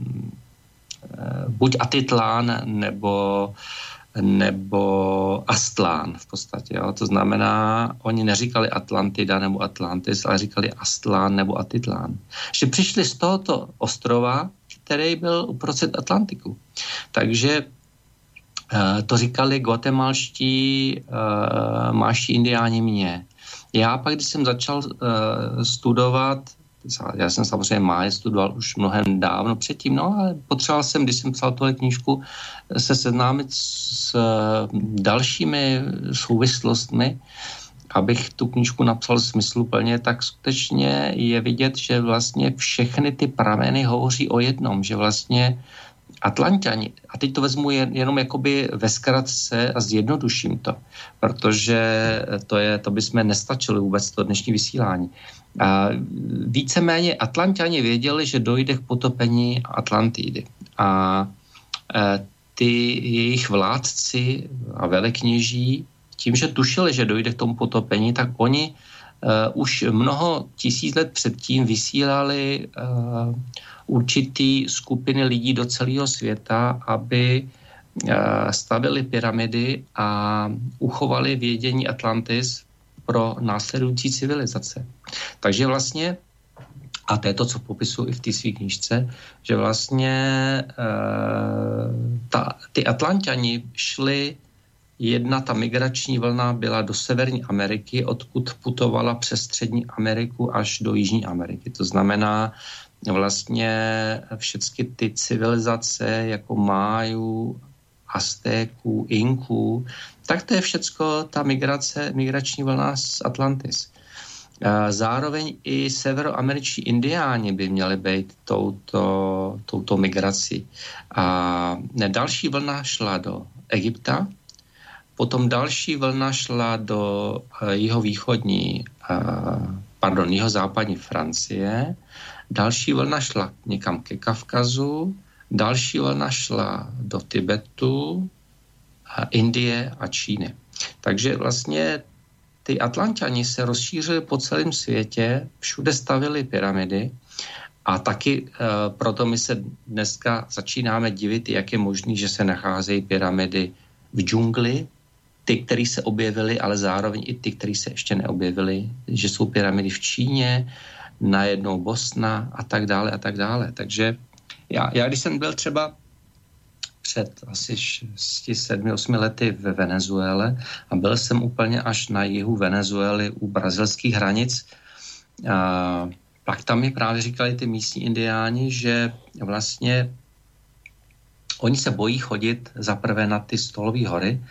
buď Atitlán nebo, nebo Aztlán v podstatě. Jo. To znamená, oni neříkali Atlantida nebo Atlantis, ale říkali Aztlán nebo Atitlán. Že přišli z tohoto ostrova, který byl uprostřed Atlantiku. Takže to říkali guatemalští uh, máští indiáni mě. Já pak, když jsem začal uh, studovat, já jsem samozřejmě máje studoval už mnohem dávno předtím, no ale potřeboval jsem, když jsem psal tuhle knížku, se seznámit s uh, dalšími souvislostmi, abych tu knížku napsal smysluplně, tak skutečně je vidět, že vlastně všechny ty prameny hovoří o jednom, že vlastně Atlanťani, a teď to vezmu jen, jenom jakoby ve zkratce a zjednoduším to, protože to, je, to bychom nestačili vůbec to dnešní vysílání. A víceméně Atlanťani věděli, že dojde k potopení Atlantidy. A e, ty jejich vládci a velekněží, tím, že tušili, že dojde k tomu potopení, tak oni uh, už mnoho tisíc let předtím vysílali uh, určitý skupiny lidí do celého světa, aby uh, stavili pyramidy a uchovali vědění Atlantis pro následující civilizace. Takže vlastně, a to je to, co popisuju i v té své knížce, že vlastně uh, ta, ty Atlanťani šli. Jedna ta migrační vlna byla do Severní Ameriky, odkud putovala přes Střední Ameriku až do Jižní Ameriky. To znamená vlastně všechny ty civilizace jako Májů, Aztéků, Inků, tak to je všecko ta migrace, migrační vlna z Atlantis. Zároveň i severoameričtí indiáni by měli být touto, touto migrací. A další vlna šla do Egypta, potom další vlna šla do jihovýchodní, pardon, jihozápadní Francie, další vlna šla někam ke Kavkazu, další vlna šla do Tibetu, Indie a Číny. Takže vlastně ty Atlanťani se rozšířili po celém světě, všude stavili pyramidy a taky e, proto my se dneska začínáme divit, jak je možný, že se nacházejí pyramidy v džungli, ty, které se objevily, ale zároveň i ty, které se ještě neobjevily, že jsou pyramidy v Číně, najednou Bosna a tak dále a tak dále. Takže já, já když jsem byl třeba před asi šesti, sedmi, osmi lety ve Venezuele a byl jsem úplně až na jihu Venezuely u brazilských hranic, a pak tam mi právě říkali ty místní indiáni, že vlastně oni se bojí chodit zaprvé na ty Stolové hory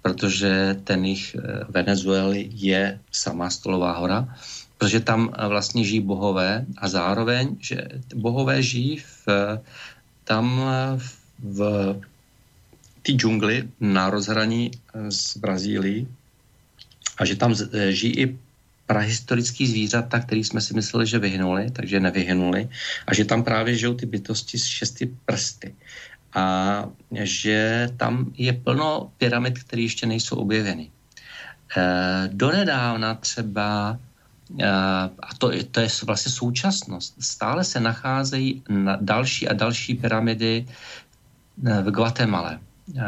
protože ten jich Venezuely je sama stolová hora, protože tam vlastně žijí bohové a zároveň, že bohové žijí v, tam v té džungli na rozhraní s Brazílií a že tam žijí i prahistorický zvířata, který jsme si mysleli, že vyhnuli, takže nevyhnuli a že tam právě žijou ty bytosti s šesti prsty. A že tam je plno pyramid, které ještě nejsou objeveny. E, donedávna třeba, e, a to, to je vlastně současnost, stále se nacházejí na další a další pyramidy v Guatemale, e,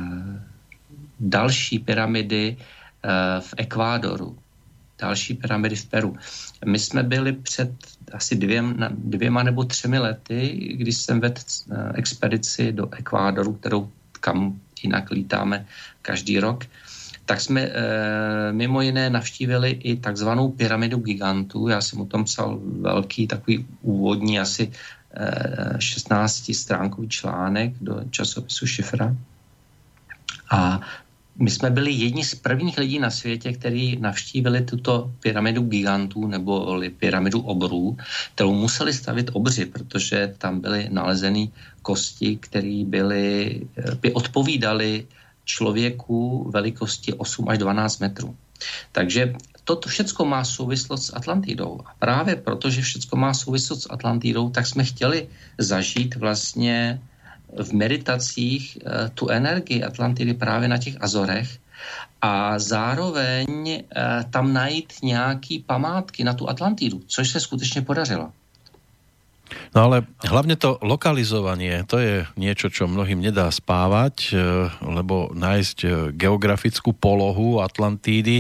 další pyramidy e, v Ekvádoru, další pyramidy v Peru. My jsme byli před asi dvěma, dvěma nebo třemi lety, když jsem vedl expedici do Ekvádoru, kterou kam jinak lítáme každý rok, tak jsme e, mimo jiné navštívili i takzvanou pyramidu gigantů. Já jsem o tom psal velký takový úvodní asi e, šestnáctistránkový článek do časopisu Šifra. A my jsme byli jedni z prvních lidí na světě, kteří navštívili tuto pyramidu gigantů nebo pyramidu obrů, kterou museli stavit obři, protože tam byly nalezeny kosti, které byly, by odpovídaly člověku velikosti osm až dvanáct metrů. Takže toto všecko má souvislost s Atlantidou. A právě protože všecko má souvislost s Atlantidou, tak jsme chtěli zažít vlastně v meditacích tu energii Atlantidy právě na těch Azorech a zároveň tam najít nějaký památky na tu Atlantidu, což se skutečně podařilo. No ale hlavne to lokalizovanie, to je niečo, čo mnohým nedá spávať, lebo nájsť geografickú polohu Atlantídy,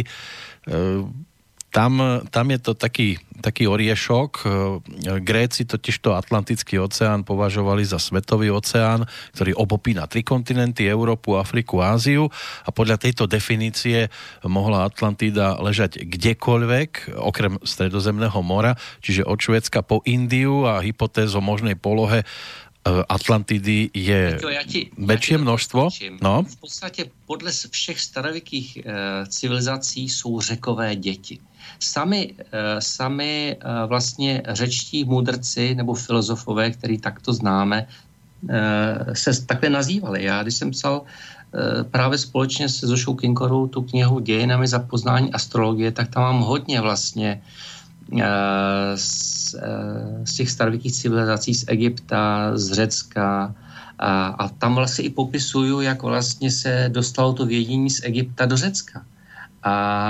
Tam, tam je to taký, taký oriešok. Gréci totiž to Atlantický oceán považovali za svetový oceán, ktorý obopína tri kontinenty, Európu, Afriku, Áziu a podľa tejto definície mohla Atlantída ležať kdekoľvek, okrem Stredozemného mora, čiže od Švédska po Indiu a hypotéz o možnej polohe Atlantidy je väčšie množstvo. No. V podstatě podle všech starověkých e, civilizací jsou řekové děti. Sami, e, sami e, vlastně řečtí mudrci nebo filozofové, který takto známe, e, se takhle nazývali. Já, když jsem psal e, právě společně se Zošou Kinkorou tu knihu Dějinami za poznání astrologie, tak tam mám hodně vlastně z, z těch starověkých civilizací z Egypta, z Řecka a, a tam vlastně i popisuju, jak vlastně se dostalo to vědění z Egypta do Řecka. A, a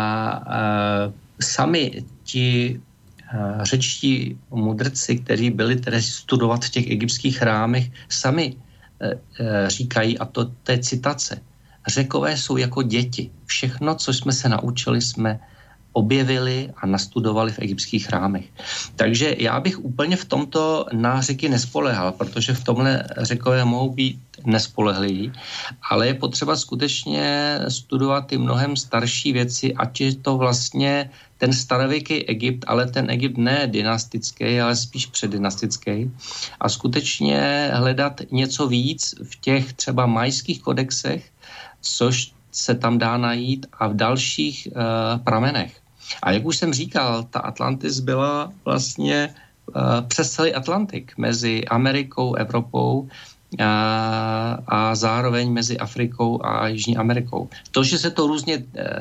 sami ti a, řečtí mudrci, kteří byli tedy studovat v těch egyptských chrámech, sami a, a, říkají, a to, to je citace, Řekové jsou jako děti. Všechno, co jsme se naučili, jsme objevili a nastudovali v egyptských chrámech. Takže já bych úplně v tomto na Řeky nespolehal, protože v tomhle Řekové mohou být nespolehliví, ale je potřeba skutečně studovat ty mnohem starší věci, ať je to vlastně ten starověký Egypt, ale ten Egypt ne dynastický, ale spíš předdynastický a skutečně hledat něco víc v těch třeba majských kodexech, což se tam dá najít a v dalších uh, pramenech. A jak už jsem říkal, ta Atlantis byla vlastně uh, přes celý Atlantik mezi Amerikou, Evropou uh, a zároveň mezi Afrikou a Jižní Amerikou. To, že se to různě uh,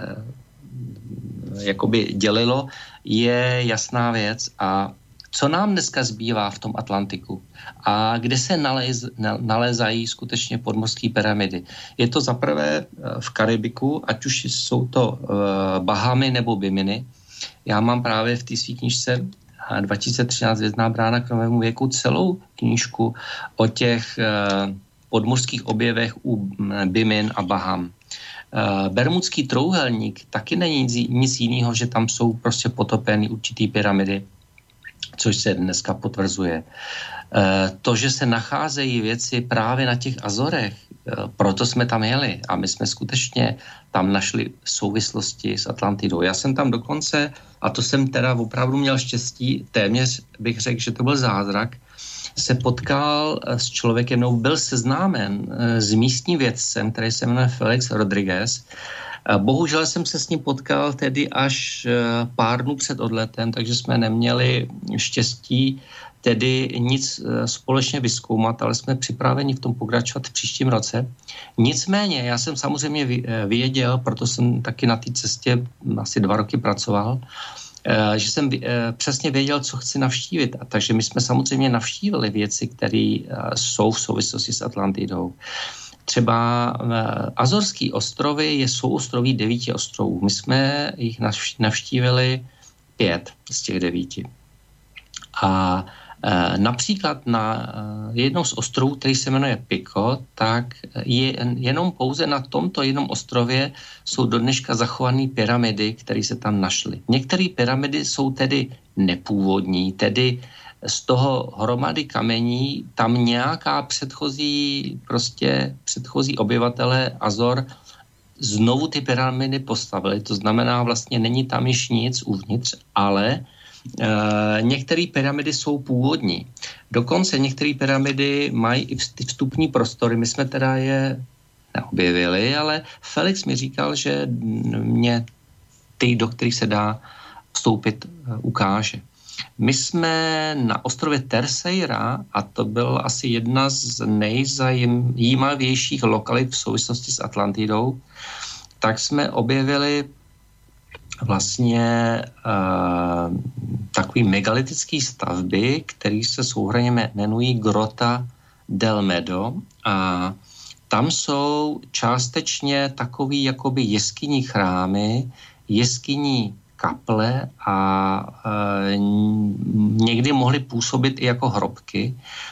jakoby dělilo, je jasná věc. A co nám dneska zbývá v tom Atlantiku a kde se naléz, nalézají skutečně podmořské pyramidy. Je to zaprvé v Karibiku, ať už jsou to uh, Bahamy nebo Biminy. Já mám právě v té svý knížce dva tisíce třináct Hvězdná brána k novému věku celou knížku o těch uh, podmořských objevech u Bimin a Baham. Uh, Bermudský trouhelník taky není nic, nic jiného, že tam jsou prostě potopeny určitý pyramidy, což se dneska potvrzuje. To, že se nacházejí věci právě na těch Azorech, proto jsme tam jeli a my jsme skutečně tam našli souvislosti s Atlantidou. Já jsem tam dokonce, a to jsem teda opravdu měl štěstí, téměř bych řekl, že to byl zázrak, se potkal s člověkem, no byl seznámen s místním vědcem, který se jmenuje Felix Rodriguez. Bohužel jsem se s ním potkal tedy až pár dnů před odletem, takže jsme neměli štěstí tedy nic společně vyzkoumat, ale jsme připraveni v tom pokračovat v příštím roce. Nicméně, já jsem samozřejmě věděl, proto jsem taky na té cestě asi dva roky pracoval, že jsem přesně věděl, co chci navštívit. A takže my jsme samozřejmě navštívili věci, které jsou v souvislosti s Atlantidou. Třeba Azorský ostrovy je souostroví devíti ostrovů. My jsme jich navštívili pět z těch devíti. A například na jednom z ostrovů, který se jmenuje Pico, tak je jenom pouze na tomto jednom ostrově jsou do dneška zachované pyramidy, které se tam našly. Některé pyramidy jsou tedy nepůvodní, tedy z toho hromady kamení tam nějaká předchozí, prostě předchozí obyvatelé Azor znovu ty pyramidy postavili. To znamená, vlastně není tam již nic uvnitř, ale Uh, některé pyramidy jsou původní. Dokonce některé pyramidy mají i vstupní prostory. My jsme teda je neobjevili, ale Felix mi říkal, že mě ty, do kterých se dá vstoupit, uh, ukáže. My jsme na ostrově Terceira, a to byl asi jedna z nejzajímavějších lokalit v souvislosti s Atlantidou, tak jsme objevili vlastně uh, takový megalitický stavby, které se souhrnně jmenují Grota del Medo, a tam jsou částečně takový jakoby jeskyní chrámy, jeskyní kaple a uh, někdy mohly působit i jako hrobky,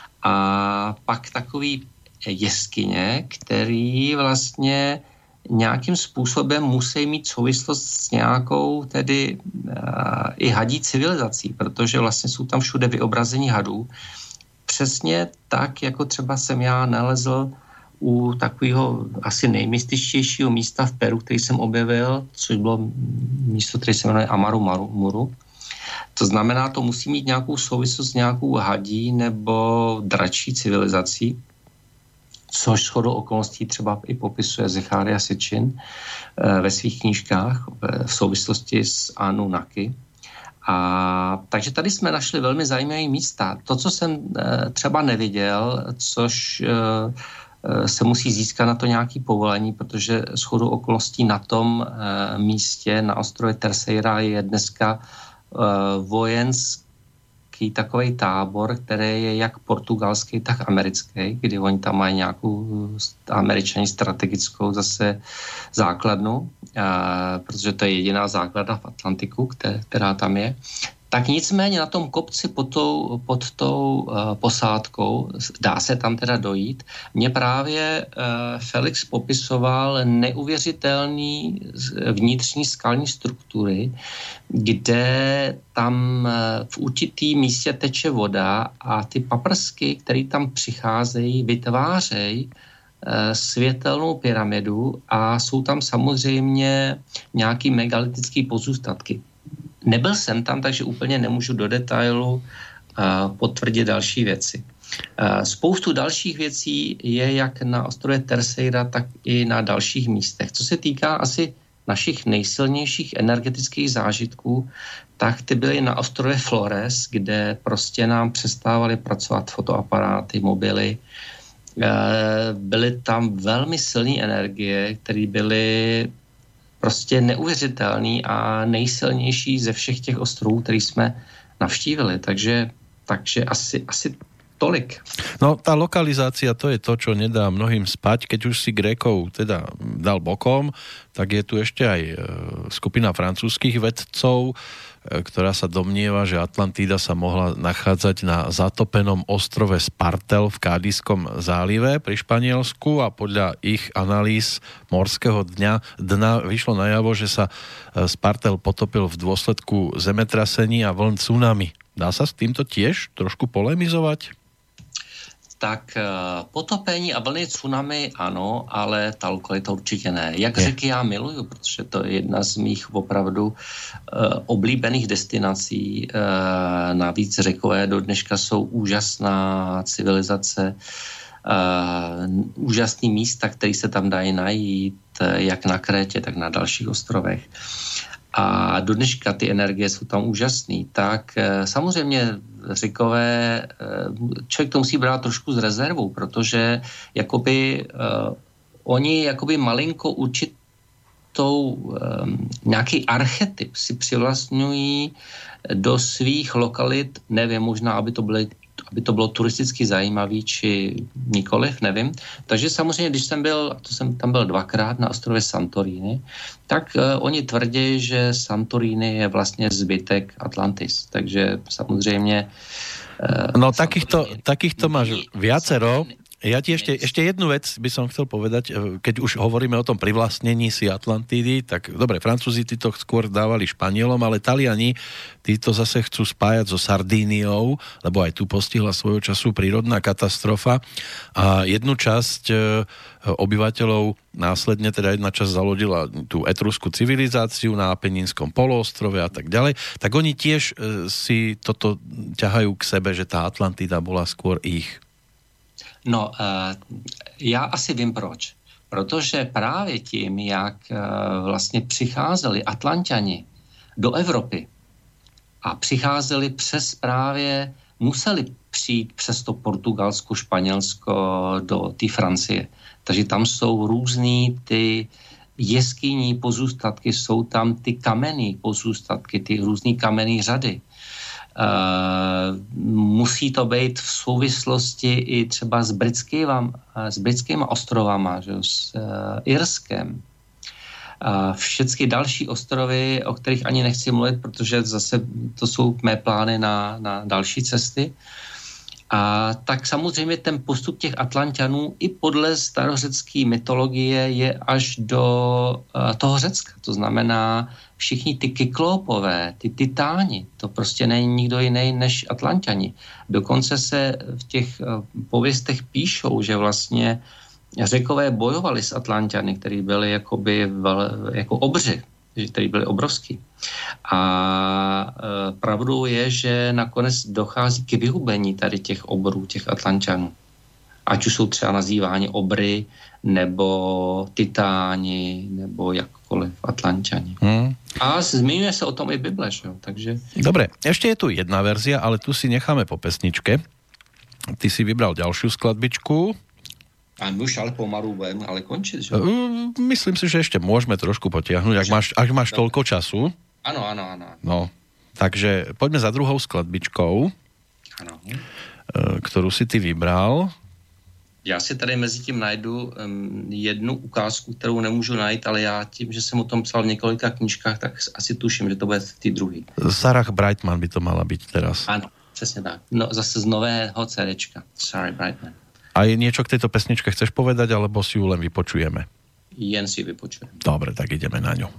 a pak takový jeskyně, který vlastně nějakým způsobem musí mít souvislost s nějakou tedy uh, i hadí civilizací, protože vlastně jsou tam všude vyobrazení hadů. Přesně tak, jako třeba jsem já nalezl u takového asi nejmystičtějšího místa v Peru, který jsem objevil, což bylo místo, které se jmenuje Amaru Muru. To znamená, to musí mít nějakou souvislost s nějakou hadí nebo dračí civilizací, což shodou okolností třeba i popisuje Zecharia Sitchin ve svých knížkách v souvislosti s Anunnaki. A takže tady jsme našli velmi zajímavé místa. To, co jsem třeba neviděl, což se musí získat na to nějaké povolení, protože shodou okolností na tom místě, na ostrově Terceira, je dneska vojenský takový tábor, který je jak portugalský, tak americký, kdy oni tam mají nějakou Američaní strategickou zase základnu, a, protože to je jediná základna v Atlantiku, které, která tam je. Tak nicméně na tom kopci pod tou, pod tou uh, posádkou, dá se tam teda dojít, mě právě uh, Felix popisoval neuvěřitelný vnitřní skalní struktury, kde tam uh, v určitý místě teče voda a ty paprsky, které tam přicházejí, vytvářejí uh, světelnou pyramidu a jsou tam samozřejmě nějaký megalitický pozůstatky. Nebyl jsem tam, takže úplně nemůžu do detailu uh, potvrdit další věci. Uh, spoustu dalších věcí je jak na ostrově Terceira, tak i na dalších místech. Co se týká asi našich nejsilnějších energetických zážitků, tak ty byly na ostrově Flores, kde prostě nám přestávaly pracovat fotoaparáty, mobily. Uh, byly tam velmi silné energie, které byly prostě neuvěřitelný a nejsilnější ze všech těch ostrovů, který jsme navštívili. Takže, takže asi, asi tolik. No, tá lokalizácia, to je to, čo nedá mnohým spať. Keď už si Grékov teda dal bokom, tak je tu ešte aj skupina francúzskych vedcov, ktorá sa domnieva, že Atlantída sa mohla nachádzať na zatopenom ostrove Spartel v Kádiskom zálive pri Španielsku, a podľa ich analýz morského dňa, dna vyšlo najavo, že sa Spartel potopil v dôsledku zemetrasení a vln tsunami. Dá sa s týmto tiež trošku polemizovať? Tak potopení a vlny tsunami ano, ale ta lokalita určitě ne. Jak je. Řeky já miluju, protože to je jedna z mých opravdu uh, oblíbených destinací. Uh, navíc Řekové do dneška jsou úžasná civilizace, uh, úžasný místa, které se tam dají najít, jak na Krétě, tak na dalších ostrovech. A do dneška ty energie jsou tam úžasný. Tak uh, samozřejmě Řekové, člověk to musí brát trošku s rezervou, protože jakoby uh, oni jakoby malinko určitou um, nějaký archetyp si přivlastňují do svých lokalit, nevím, možná, aby to byly aby to bylo turisticky zajímavý, či nikoliv, nevím. Takže samozřejmě, když jsem byl, to jsem tam byl dvakrát na ostrově Santorini, tak uh, oni tvrdí, že Santorini je vlastně zbytek Atlantis. Takže samozřejmě... Uh, no takýchto, takýchto máš viacero. Ja ti ešte, ešte jednu vec by som chcel povedať, keď už hovoríme o tom privlastnení si Atlantidy, tak dobre, Francúzi tí to skôr dávali Španielom, ale Taliani títo zase chcú spájať so Sardíniou, lebo aj tu postihla svojho času prírodná katastrofa a jednu časť obyvateľov následne, teda jedna časť zalodila tú etruskú civilizáciu na Apenínskom poloostrove a tak ďalej, tak oni tiež si toto ťahajú k sebe, že tá Atlantida bola skôr ich. No, uh, já asi vím proč. Protože právě tím, jak uh, vlastně přicházeli Atlanťani do Evropy a přicházeli přes právě, museli přijít přes to Portugalsko, Španělsko do té Francie. Takže tam jsou různý ty jeskyní pozůstatky, jsou tam ty kamenný pozůstatky, ty různý kamenný řady. Uh, musí to být v souvislosti i třeba s britskýma, s britskýma ostrovama, že, s uh, Irskem. Uh, všechny další ostrovy, o kterých ani nechci mluvit, protože zase to jsou mé plány na, na další cesty. A tak samozřejmě ten postup těch Atlanťanů i podle starořecké mytologie je až do uh, toho Řecka. To znamená, všichni ty kyklópové, ty titáni, to prostě není nikdo jiný než Atlanťani. Dokonce se v těch uh, pověstech píšou, že vlastně Řekové bojovali s Atlanťany, kteří byli jakoby vel, jako obři, kteří byli obrovský. A e, pravdou je, že nakonec dochází k vyhubení tady těch obrů, těch Atlanťanů. Ať už jsou třeba nazýváni obry, nebo titáni, nebo jakkoliv Atlanťani. Hmm. A zmiňuje se o tom i Bible, že jo? Takže... Dobre, ešte je tu jedna verzia, ale tu si necháme po pesničke. Ty si vybral ďalšiu skladbičku. A my už ale pomalu budeme ale končiť, že? Myslím si, že ešte môžeme trošku potiahnuť, ak máš, ak máš toľko času. Áno, áno, áno. No, takže poďme za druhou skladbičkou, ano. Ktorú si ty vybral. Já si tady mezi tím najdu um, jednu ukázku, kterou nemůžu najít, ale já tím, že jsem o tom psal v několika knížkách, tak asi tuším, že to bude v té druhé. Sarah Brightman by to mala byť teraz. Áno, přesně tak. No, zase z nového CDčka. Sarah Brightman. A je niečo k tejto pesničke chceš povedať, alebo si ju len vypočujeme? Jen si ju vypočujeme. Dobre, tak ideme na ňu.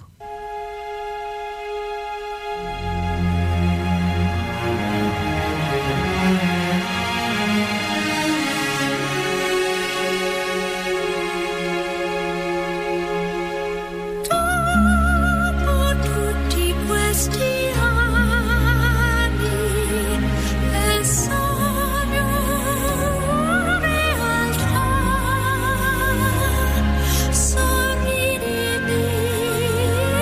Sorridimi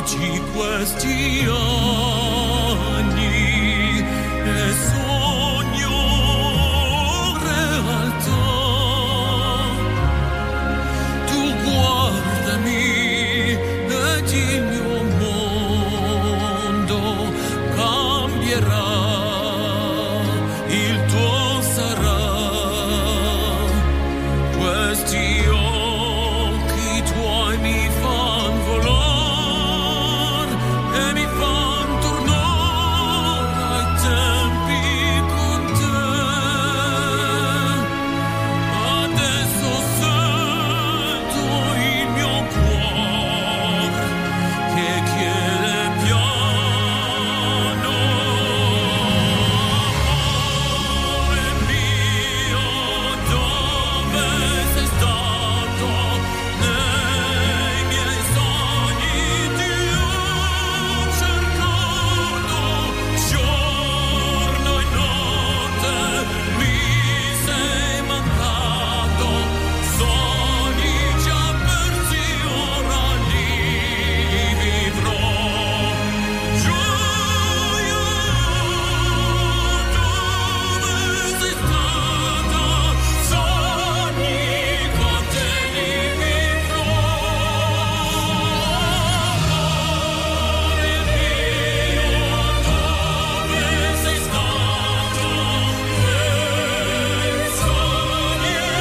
tutti questi anni e sogno realtà. Tu guardami ed il mio mondo cambierà, il tuo sarà. Questi occhi tuoi mi fan volar e mi fan tornare ai tempi con te. Adesso sento il mio cuore che chiede piano. Amore mio, dove sei stato? Nei miei sogni ti ho cercato, giorno e notte mi sei mancato, sogni già persi ora li vivrò. Gioia, dove sei stata? Sogni con te li vivrò. Amore mio, dove sei stato? Nei sogni di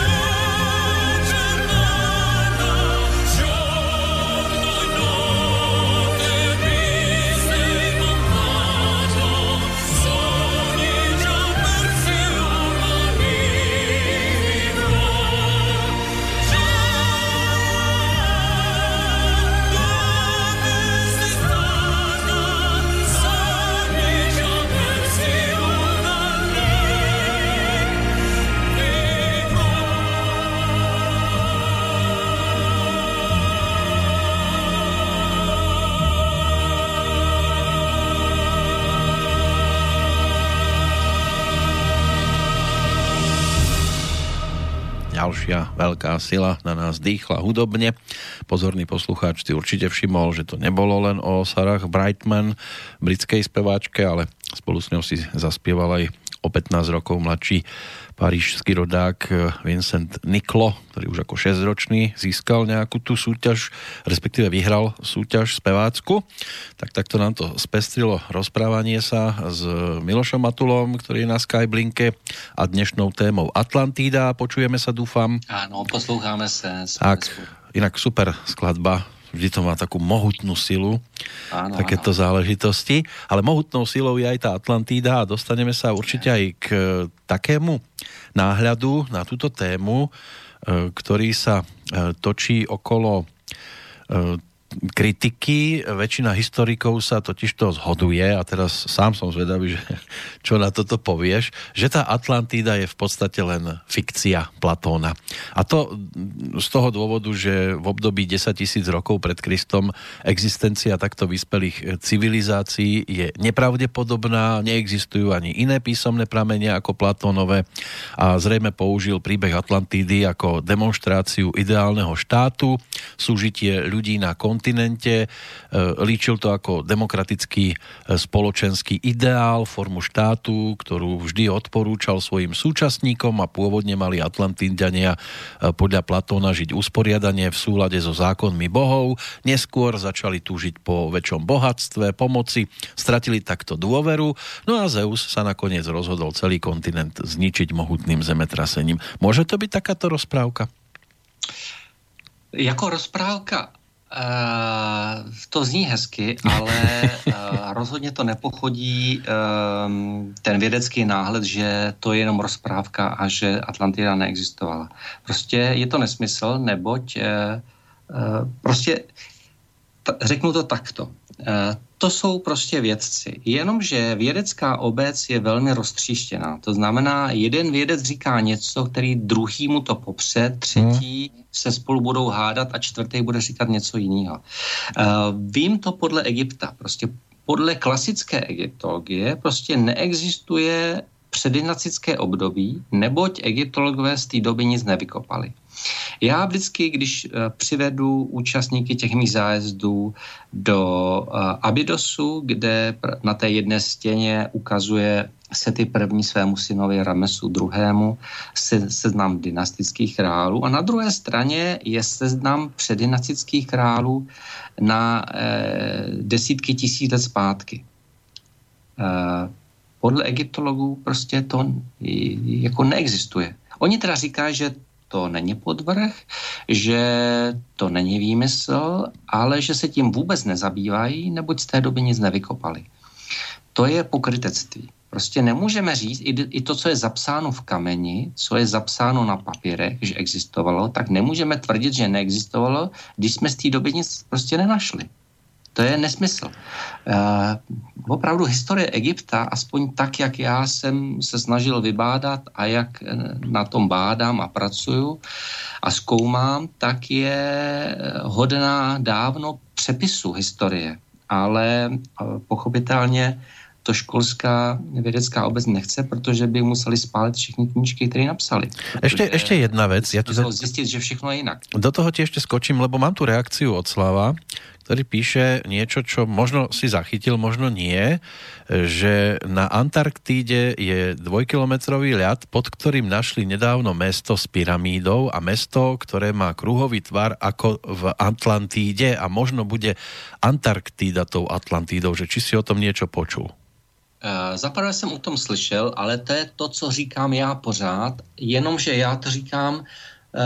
giornata, giorno e notte mi sei mancato, sogni già persi ora li vivrò. Dove sei stata? Sogni già persi ora li Ďalšia veľká sila na nás dýchla hudobne. Pozorný poslucháč si určite všimol, že to nebolo len o Sarah Brightman, britskej speváčke, ale spolu s ňou si zaspieval aj o pätnásť rokov mladší parížský rodák Vincent Niclo, ktorý už ako šesťročný získal nejakú tú súťaž, respektíve vyhral súťaž spevácku. Tak takto nám to spestrilo rozprávanie sa s Milošom Matulom, ktorý je na Skyblinke, a dnešnou témou Atlantída. Počujeme sa, dúfam. Áno, poslúchame sa. Tak, inak super skladba. Vždy to má takú mohutnú silu, Áno, takéto áno. záležitosti. Ale mohutnou silou je aj tá Atlantída a dostaneme sa určite aj k takému náhľadu na túto tému, e, ktorý sa e, točí okolo e, kritiky. Väčšina historikov sa totižto zhoduje, a teraz sám som zvedavý, že čo na toto povieš, že tá Atlantída je v podstate len fikcia Platóna. A to z toho dôvodu, že v období desaťtisíc rokov pred Kristom existencia takto vyspelých civilizácií je nepravdepodobná, neexistujú ani iné písomné pramene ako Platónové, a zrejme použil príbeh Atlantídy ako demonštráciu ideálneho štátu, súžitie ľudí na kontinente, líčil to ako demokratický spoločenský ideál, formu štátu, ktorú vždy odporúčal svojim súčasníkom, a pôvodne mali Atlantíďania podľa Platóna žiť usporiadanie v súlade so zákonmi bohov. Neskôr začali túžiť po väčšom bohatstve, pomoci, stratili takto dôveru, no a Zeus sa nakoniec rozhodol celý kontinent zničiť mohutným zemetrasením. Môže to byť takáto rozprávka? Jako rozprávka Uh, to zní hezky, ale uh, rozhodně to nepochodí um, ten vědecký náhled, že to je jenom rozprávka a že Atlantida neexistovala. Prostě je to nesmysl, neboť uh, uh, prostě t- řeknu to takto. Uh, to jsou prostě vědci. Jenomže vědecká obec je velmi roztříštěná. To znamená, jeden vědec říká něco, který druhý mu to popře, třetí hmm. se spolu budou hádat a čtvrtý bude říkat něco jiného. Uh, vím to podle Egypta. Prostě podle klasické egyptologie prostě neexistuje předinacické období, neboť egyptologové z té doby nic nevykopali. Já vždycky, když přivedu účastníky těch mých zájezdů do Abydosu, kde na té jedné stěně ukazuje Seti první svému synovi Ramesu druhému se, seznam dynastických králů a na druhé straně je seznam předdynastických králů na eh, desítky tisíc let zpátky. Eh, podle egyptologů prostě to jako neexistuje. Oni teda říkají, že to není podvrh, že to není výmysl, ale že se tím vůbec nezabývají, neboť z té doby nic nevykopali. To je pokrytectví. Prostě nemůžeme říct, i to, co je zapsáno v kameni, co je zapsáno na papírech, že existovalo, tak nemůžeme tvrdit, že neexistovalo, když jsme z té doby nic prostě nenašli. To je nesmysl. Uh, opravdu historie Egypta, aspoň tak, jak já jsem se snažil vybádat a jak na tom bádám a pracuju a zkoumám, tak je hodná dávno přepisu historie. Ale uh, pochopitelně to školská vědecká obec nechce, protože by museli spálit všechny knížky, které napsali. Ešte, ešte jedna vec. Ja to zistiť, že všechno je inak. Do toho ti ešte skočím, lebo mám tu reakciu od Slava, ktorý píše niečo, čo možno si zachytil, možno nie, že na Antarktíde je dvojkilometrový ľad, pod ktorým našli nedávno mesto s pyramídou a mesto, ktoré má kruhový tvar ako v Atlantíde a možno bude Antarktída tou Atlantídou, že či si o tom niečo počul? Uh, Zaprvé jsem o tom slyšel, ale to je to, co říkám já pořád, jenomže já to říkám uh,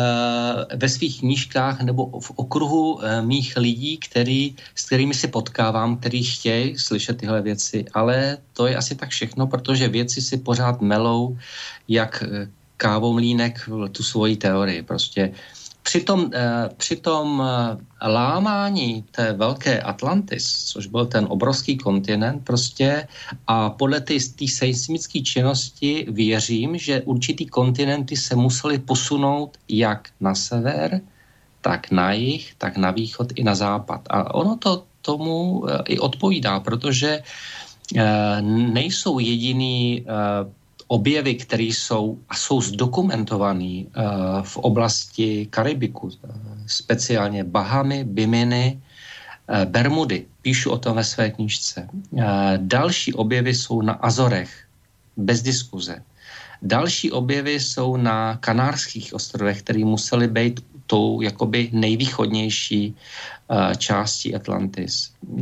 ve svých knížkách nebo v okruhu uh, mých lidí, který, s kterými si potkávám, kteří chtějí slyšet tyhle věci, ale to je asi tak všechno, protože věci si pořád melou jak kávomlínek tu svoji teorii. Prostě Při tom, eh, při tom eh, lámání té velké Atlantis, což byl ten obrovský kontinent prostě a podle té seismické činnosti věřím, že určitý kontinenty se museli posunout jak na sever, tak na jih, tak na východ i na západ. A ono to tomu eh, i odpovídá, protože eh, nejsou jediný eh, objevy, které jsou a jsou zdokumentované uh, v oblasti Karibiku, uh, speciálně Bahamy, Biminy, uh, Bermudy. Píšu o tom ve své knížce. Uh, další objevy jsou na Azorech, bez diskuze. Další objevy jsou na Kanárských ostrovech, které musely být tou jakoby nejvýchodnější uh, částí Atlantis. Uh,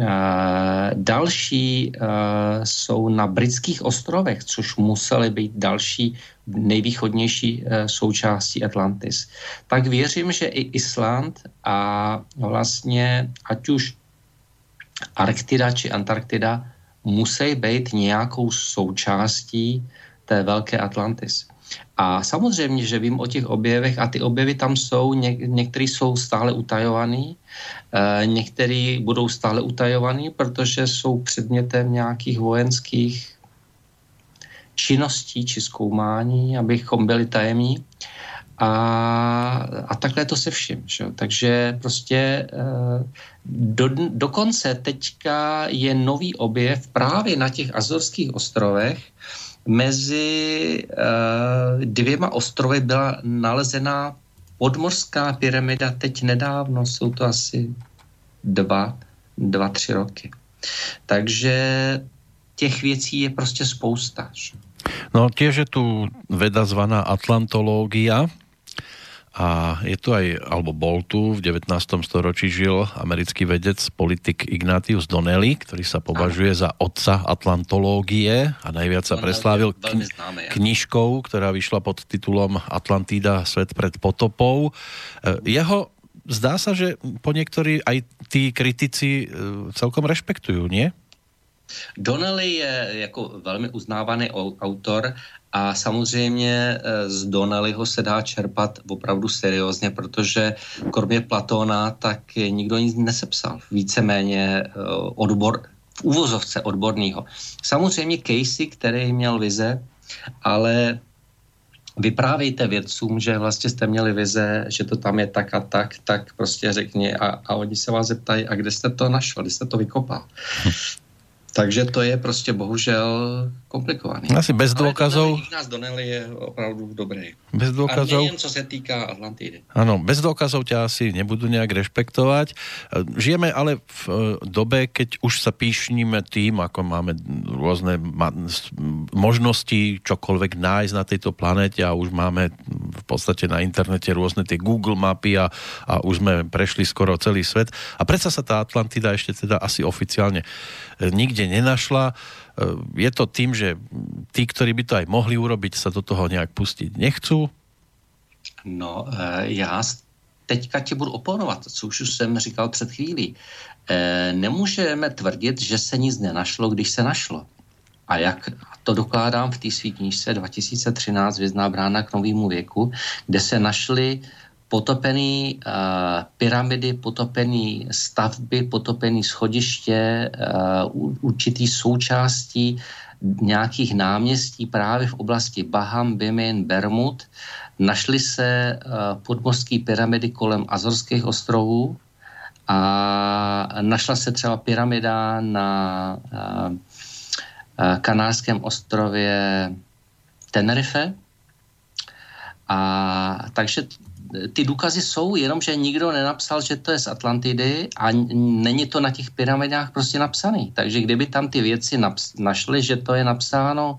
další uh, jsou na Britských ostrovech, což musely být další nejvýchodnější uh, součástí Atlantis. Tak věřím, že i Island a vlastně ať už Arktida či Antarktida musí být nějakou součástí té velké Atlantis. A samozřejmě, že vím o těch objevech a ty objevy tam jsou, něk, některý jsou stále utajovaný, e, některý budou stále utajovaný, protože jsou předmětem nějakých vojenských činností či zkoumání, abychom byli tajemní. A, a takhle to se vším. Že? Takže prostě e, do, dokonce teďka je nový objev právě na těch Azorských ostrovech. Mezi uh, dvěma ostrovy byla nalezená podmořská pyramida teď nedávno, jsou to asi dva, dva, tři roky. Takže těch věcí je prostě spousta. No tiež je tu veda zvaná atlantológia a je tu aj, alebo bol tu, v devätnástom storočí žil americký vedec, politik Ignatius Donnelly, ktorý sa považuje za otca atlantológie a najviac sa preslávil kni- knižkou, ktorá vyšla pod titulom Atlantída, svet pred potopou. Jeho zdá sa, že po niektorí aj tí kritici celkom rešpektujú, nie? Donnelly je jako velmi uznávaný autor a samozřejmě z Donnellyho se dá čerpat opravdu seriózně, protože kromě Platóna tak nikdo nic nesepsal. Víceméně odbor, v úvozovce odborného. Samozřejmě Casey, který měl vize, ale vyprávějte vědcům, že vlastně jste měli vize, že to tam je tak a tak, tak prostě řekni a, a oni se vás zeptají, a kde jste to našel, kde jste to vykopal. Takže to je prostě bohužel komplikovaný. Asi bez dôkazov. Ale nás Donnelly je opravdu dobrý. Bez dôkazov. A nejen co se týká Atlantidy. Áno, bez dôkazov ťa asi nebudú nejak rešpektovať. Žijeme ale v dobe, keď už sa píšnime tým, ako máme rôzne možnosti čokoľvek nájsť na tejto planéte a už máme v podstate na internete rôzne tie Google mapy a, a už sme prešli skoro celý svet. A predsa sa tá Atlantida ešte teda asi oficiálne nikde nenašla. Je to tým, že tí, ktorí by to aj mohli urobiť, sa do toho nejak pustiť nechcú? No, já teďka ti budu oponovat, co už jsem říkal před chvílí. Nemůžeme tvrdit, že se nic nenašlo, když se našlo. A jak to dokládám v té své knížce dva tisíce třináct Hvězdná brána k novému věku, kde se našly potopený uh, pyramidy, potopený stavby, potopený schodiště, uh, určitý součástí nějakých náměstí právě v oblasti Baham, Bimin, Bermud. Našly se uh, podmořské pyramidy kolem Azorských ostrovů a našla se třeba pyramida na uh, uh, kanárském ostrově Tenerife. A takže ty důkazy jsou, jenomže nikdo nenapsal, že to je z Atlantidy a není to na těch pyramidách prostě napsaný. Takže kdyby tam ty věci naps- našly, že to je napsáno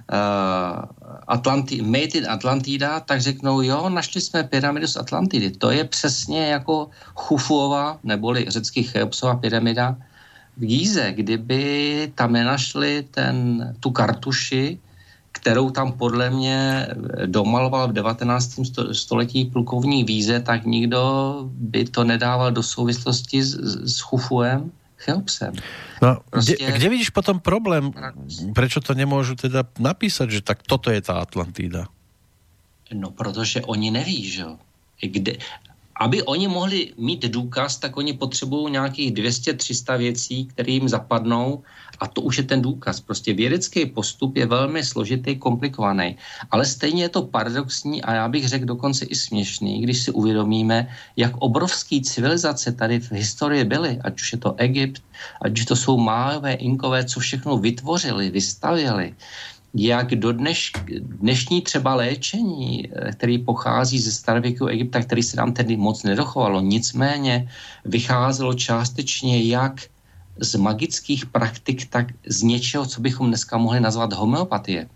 uh, Atlanti- Made in Atlantida, tak řeknou, jo, našli jsme pyramidu z Atlantidy. To je přesně jako Chufuova, neboli řecký Cheopsova pyramida v Gíze. Kdyby tam nenašli ten, tu kartuši, kterou tam podle mě domaloval v devatenáctém století plukovník Víze, tak nikdo by to nedával do souvislosti s, s Chufuem, Cheopsem. No, Proste... kde, kde vidíš potom problém? Prečo to nemôžu teda napísať, že tak toto je tá Atlantída? No, protože oni neví, že jo. Kde... Aby oni mohli mít důkaz, tak oni potřebují nějakých dvě stě tři sta věcí, které jim zapadnou a to už je ten důkaz. Prostě vědecký postup je velmi složitý, komplikovaný. Ale stejně je to paradoxní a já bych řekl dokonce i směšný, když si uvědomíme, jak obrovský civilizace tady v historii byly, ať už je to Egypt, ať už to jsou Májové, Inkové, co všechno vytvořili, vystavěli. Jak do dneš, dnešní třeba léčení, který pochází ze starověkého Egypta, který se nám tedy moc nedochovalo, nicméně vycházelo částečně jak z magických praktik, tak z něčeho, co bychom dneska mohli nazvat homeopatie.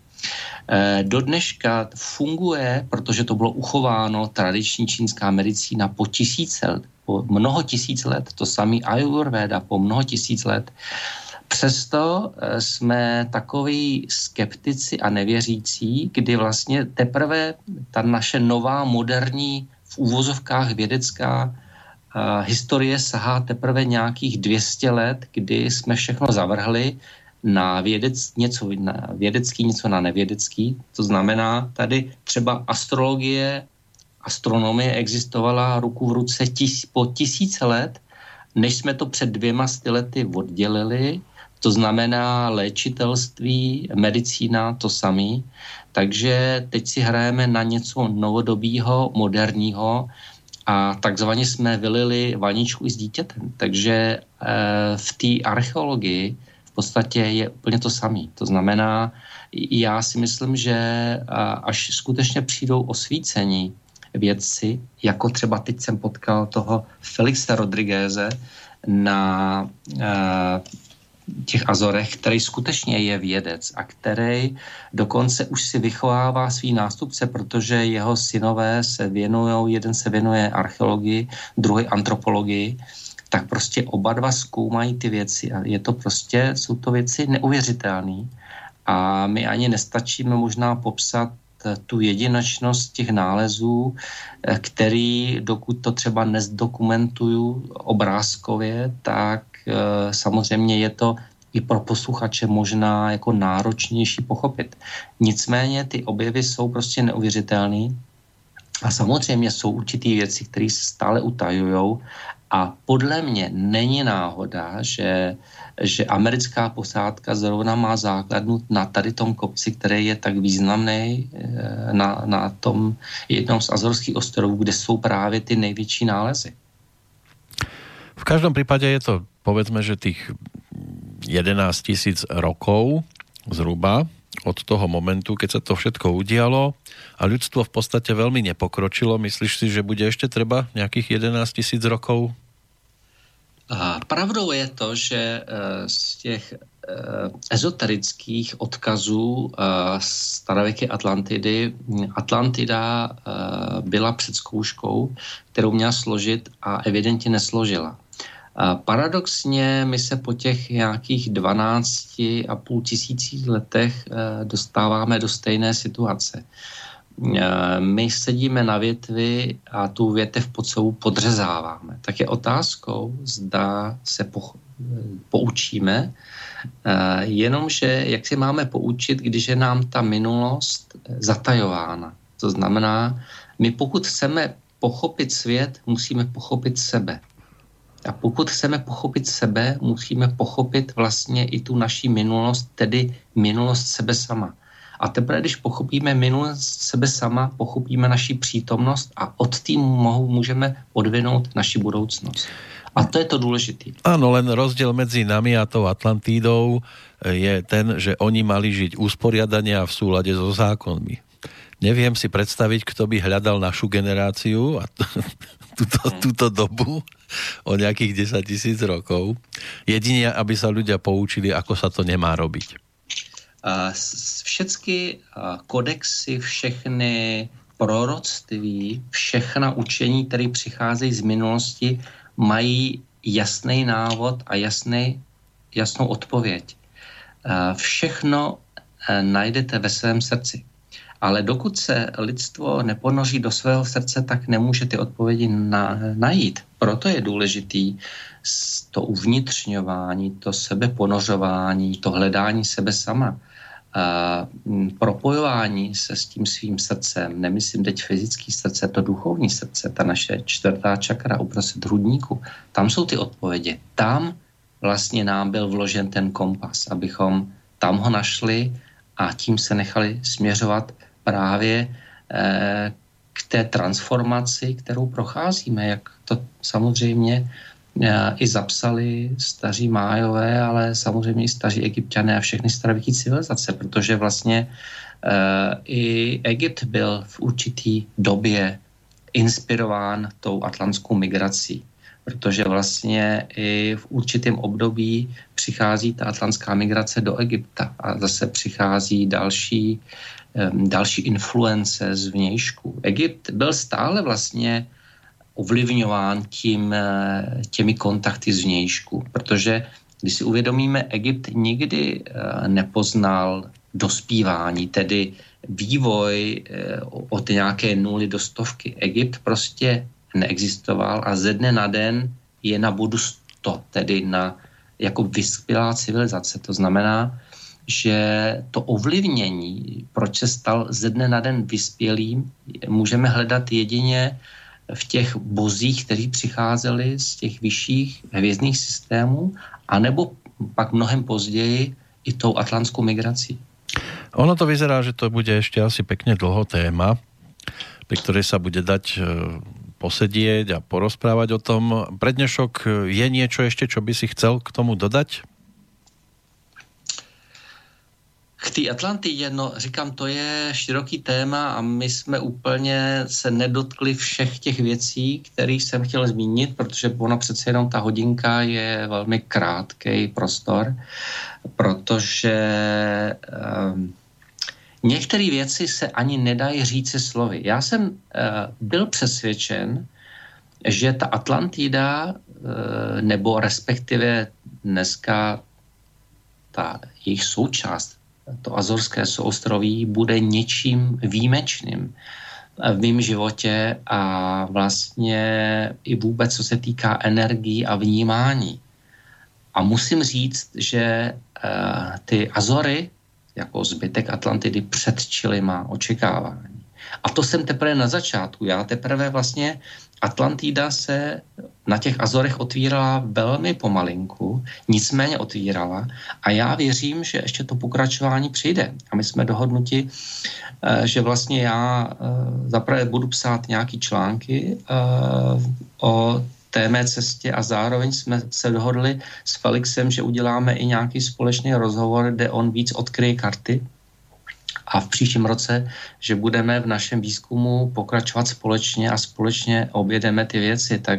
Do dneška funguje, protože to bylo uchováno, tradiční čínská medicína po tisíce let, po mnoho tisíc let, to samý Ayurveda po mnoho tisíc let. Přesto jsme takoví skeptici a nevěřící, kdy vlastně teprve ta naše nová, moderní, v úvozovkách vědecká uh, historie sahá teprve nějakých dvě stě let, kdy jsme všechno zavrhli na vědec, něco na vědecký, něco na nevědecký. To znamená, tady třeba astrologie, astronomie existovala ruku v ruce tis, po tisíce let, než jsme to před dvěma sty lety oddělili. To znamená léčitelství, medicína, to samý. Takže teď si hrajeme na něco novodobího, moderního a takzvaně jsme vylili vaničku i s dítětem. Takže e, v té archeologii v podstatě je úplně to samé. To znamená, já si myslím, že až skutečně přijdou osvícení vědci, jako třeba teď jsem potkal toho Felixe Rodrigueze na e, těch Azorech, který skutečně je vědec a který dokonce už si vychovává svý nástupce, protože jeho synové se věnují, jeden se věnuje archeologii, druhý antropologii, tak prostě oba dva zkoumají ty věci a je to prostě, jsou to věci neuvěřitelné a my ani nestačíme možná popsat tu jedinečnost těch nálezů, který, dokud to třeba nezdokumentuju obrázkově, tak samozřejmě je to i pro posluchače možná jako náročnější pochopit. Nicméně ty objevy jsou prostě neuvěřitelný a samozřejmě jsou určitý věci, které se stále utajujou a podle mě není náhoda, že, že americká posádka zrovna má základnu na tady tom kopci, který je tak významný na, na tom jednom z Azorských ostrovů, kde jsou právě ty největší nálezy. V každom prípade je to, povedzme, že tých jedenásť tisíc rokov zhruba od toho momentu, keď sa to všetko udialo a ľudstvo v podstate veľmi nepokročilo. Myslíš si, že bude ešte treba nejakých jedenásť tisíc rokov? A pravdou je to, že z těch ezoterických odkazů starověké Atlantidy Atlantida byla před zkouškou, kterou měla složit a evidentně nesložila. Paradoxně my se po těch nějakých dvanácti a půl tisících letech dostáváme do stejné situace. My sedíme na větvi a tu větev pod sebou podřezáváme. Tak je otázkou, zda se po, poučíme, jenomže jak si máme poučit, když je nám ta minulost zatajována. To znamená, my pokud chceme pochopit svět, musíme pochopit sebe. A pokud chceme pochopit sebe, musíme pochopit vlastně i tu naši minulost, tedy minulost sebe sama. A teprve, když pochopíme minulost sebe sama, pochopíme naši přítomnost a od tým můžeme odvinout naši budoucnost. A to je to důležité. Áno, len rozdiel medzi nami a tou Atlantídou je ten, že oni mali žiť usporiadane a v súlade so zákonmi. Neviem si predstaviť, kto by hľadal našu generáciu a túto, túto dobu o nejakých desať tisíc rokov. Jedine, aby sa ľudia poučili, ako sa to nemá robiť. Všechny kodexy, všechny proroctví, všechna učení, které přicházejí z minulosti, mají jasný návod a jasný, jasnou odpověď. Všechno najdete ve svém srdci. Ale dokud se lidstvo neponoří do svého srdce, tak nemůže ty odpovědi na, najít. Proto je důležitý to uvnitřňování, to sebeponořování, to hledání sebe sama. A propojování se s tím svým srdcem, nemyslím teď fyzický srdce, to duchovní srdce, ta naše čtvrtá čakra uprostřed hrudníku, tam jsou ty odpovědi. Tam vlastně nám byl vložen ten kompas, abychom tam ho našli a tím se nechali směřovat právě eh, k té transformaci, kterou procházíme, jak to samozřejmě eh, i zapsali staří Májové, ale samozřejmě i staří Egypťané a všechny starověké civilizace, protože vlastně eh, i Egypt byl v určitý době inspirován tou atlantskou migrací, protože vlastně i v určitém období přichází ta atlantská migrace do Egypta a zase přichází další, další influence z vnějšku. Egypt byl stále vlastně ovlivňován tím, těmi kontakty z vnějšku, protože když si uvědomíme, Egypt nikdy nepoznal dospívání, tedy vývoj od nějaké nuly do stovky. Egypt prostě neexistoval a ze dne na den je na bodu sto, tedy na jako vyspělá civilizace. To znamená, že to ovlivnění, proč se stal ze dne na den vyspělým, můžeme hledat jedině v těch bozích, kteří přicházeli z těch vyšších hvězdných systémů, anebo pak mnohem později i tou atlantskou migrací. Ono to vyzerá, že to bude ešte asi pekne dlho téma, pri ktorej sa bude dať posedieť a porozprávať o tom. Pre dnešok je niečo ešte, čo by si chcel k tomu dodať? K té Atlantidě, no říkám, to je široký téma a my jsme úplně se nedotkli všech těch věcí, které jsem chtěl zmínit, protože ono přece jenom ta hodinka je velmi krátký prostor, protože um, některé věci se ani nedají říci slovy. Já jsem uh, byl přesvědčen, že ta Atlantida, uh, nebo respektive dneska ta jejich součást, to Azorské souostroví, bude něčím výjimečným v mém životě a vlastně i vůbec, co se týká energií a vnímání. A musím říct, že uh, ty Azory, jako zbytek Atlantidy, předčily má očekávání. A to jsem teprve na začátku. Já teprve vlastně Atlantida se na těch Azorech otvírala velmi pomalinku, nicméně otvírala a já věřím, že ještě to pokračování přijde. A my jsme dohodnuti, že vlastně já zaprvé budu psát nějaký články o té mé cestě a zároveň jsme se dohodli s Felixem, že uděláme i nějaký společný rozhovor, kde on víc odkryje karty a v příštím roce, že budeme v našem výzkumu pokračovat společně a společně objedeme ty věci, tak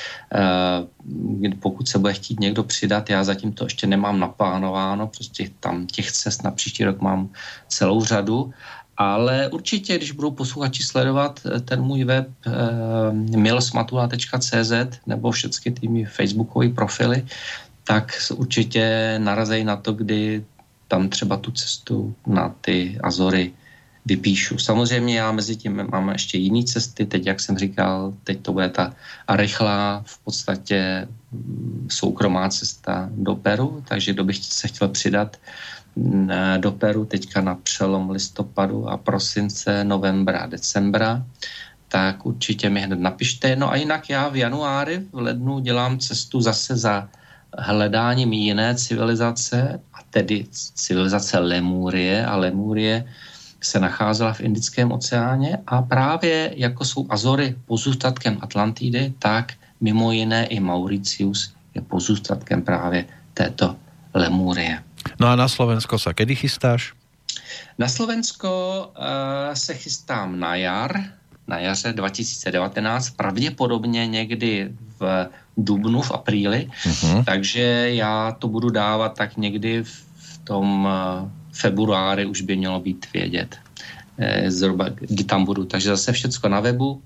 uh, pokud se bude chtít někdo přidat, já zatím to ještě nemám naplánováno, prostě tam těch cest na příští rok mám celou řadu, ale určitě, když budou posluchači sledovat ten můj web uh, milsmatula tečka cé zet nebo všechny ty mý facebookové profily, tak určitě narazí na to, kdy tam třeba tu cestu na ty Azory vypíšu. Samozřejmě já mezi tím mám ještě jiné cesty, teď, jak jsem říkal, teď to bude ta rychlá, v podstatě soukromá cesta do Peru, takže kdo by se chtěl přidat do Peru teďka na přelom listopadu a prosince, novembra, decembra, tak určitě mi hned napište. No a jinak já v januári, v lednu dělám cestu zase za hledáním jiné civilizace, a tedy civilizace Lemurie, a Lemurie se nacházela v Indickém oceáně a právě jako jsou Azory pozůstatkem Atlantidy, tak mimo jiné i Mauritius je pozůstatkem právě této Lemurie. No a na Slovensko sa kedy chystáš? Na Slovensko uh, se chystám na jar, na jaře dva tisíce devatenáct, pravděpodobně někdy v dubnu, v apríli, uh-huh. takže já to budu dávat tak někdy v tom uh, februári už by mělo být vědět, eh, zhruba kdy tam budu. Takže zase všecko na webu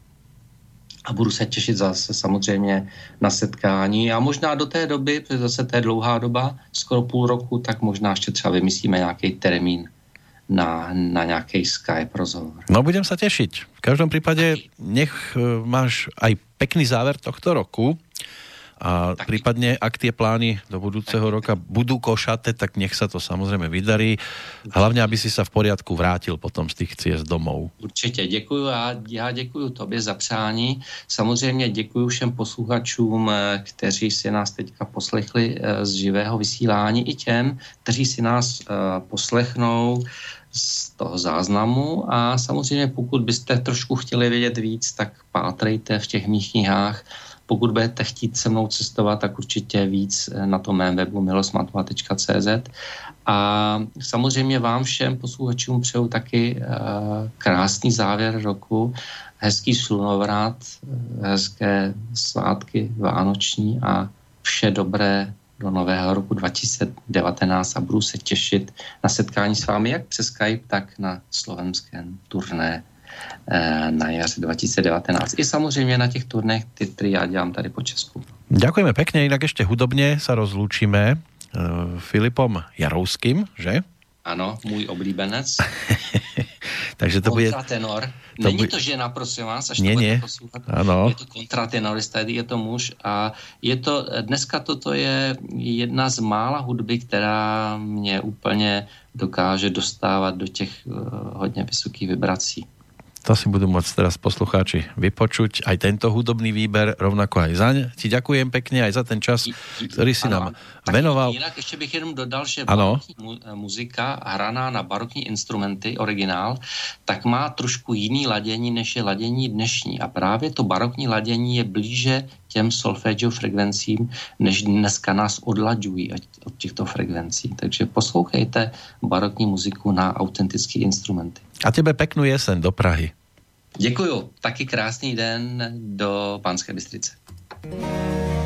a budu se těšit zase samozřejmě na setkání a možná do té doby, protože zase to je dlouhá doba, skoro půl roku, tak možná ještě třeba vymyslíme nějaký termín na, na nějaký Skype rozhovor. No budem sa tešiť. V každom prípade nech máš aj pekný záver tohto roku a tak. Prípadne, ak tie plány do budúceho roka budú košaté, tak nech sa to samozrejme vydarí. Hlavne, aby si sa v poriadku vrátil potom z tých ciest domov. Určitě, děkuju a já děkuju tobě za přání. Samozřejmě děkuju všem posluchačům, kteří si nás teďka poslechli z živého vysílání, i těm, kteří si nás poslechnou z toho záznamu a samozřejmě pokud byste trošku chtěli vědět víc, tak pátrejte v těch mých knihách. Pokud budete chtít se mnou cestovat, tak určitě víc na tom mém webu milosmatula tečka cé zet. A samozřejmě vám všem posluchačům přeju taky uh, krásný závěr roku, hezký slunovrat, hezké svátky vánoční a vše dobré do nového roku dva tisíce devatenáct a budu se těšit na setkání s vámi jak přes Skype, tak na slovenském turné na jaře dva tisíce devatenáct. I samozřejmě na těch turnech, které já dělám tady po Česku. Ďakujeme pekne, inak ešte hudobne sa rozlúčime uh, Filipom Jarouským, že? Ano, můj oblíbenec. Takže to bude... Kontratenor. Není to, bu... to žena, prosím vás, až nie, to budete poslouchat. Ano. Je to kontratenorista, je to muž a je to, dneska toto je jedna z mála hudby, která mě úplně dokáže dostávat do těch uh, hodně vysokých vibrací. To si budú môcť teraz poslucháči vypočuť. Aj tento hudobný výber, rovnako aj zaň. Ti ďakujem pekne aj za ten čas, ktorý si ano, nám venoval. Jinak ještě bych jenom dodal, že barokní mu, muzika hraná na barokní instrumenty, originál, tak má trošku jiný ladění, než je ladění dnešní. A právě to barokní ladění je blíže těm solfeggio frekvencím, než dneska nás odlaďují od těchto frekvencí. Takže poslouchejte barokní muziku na autentické instrumenty. A tebe peknú jesen do Prahy. Děkuju. Taky krásný den do Banské Bystrice.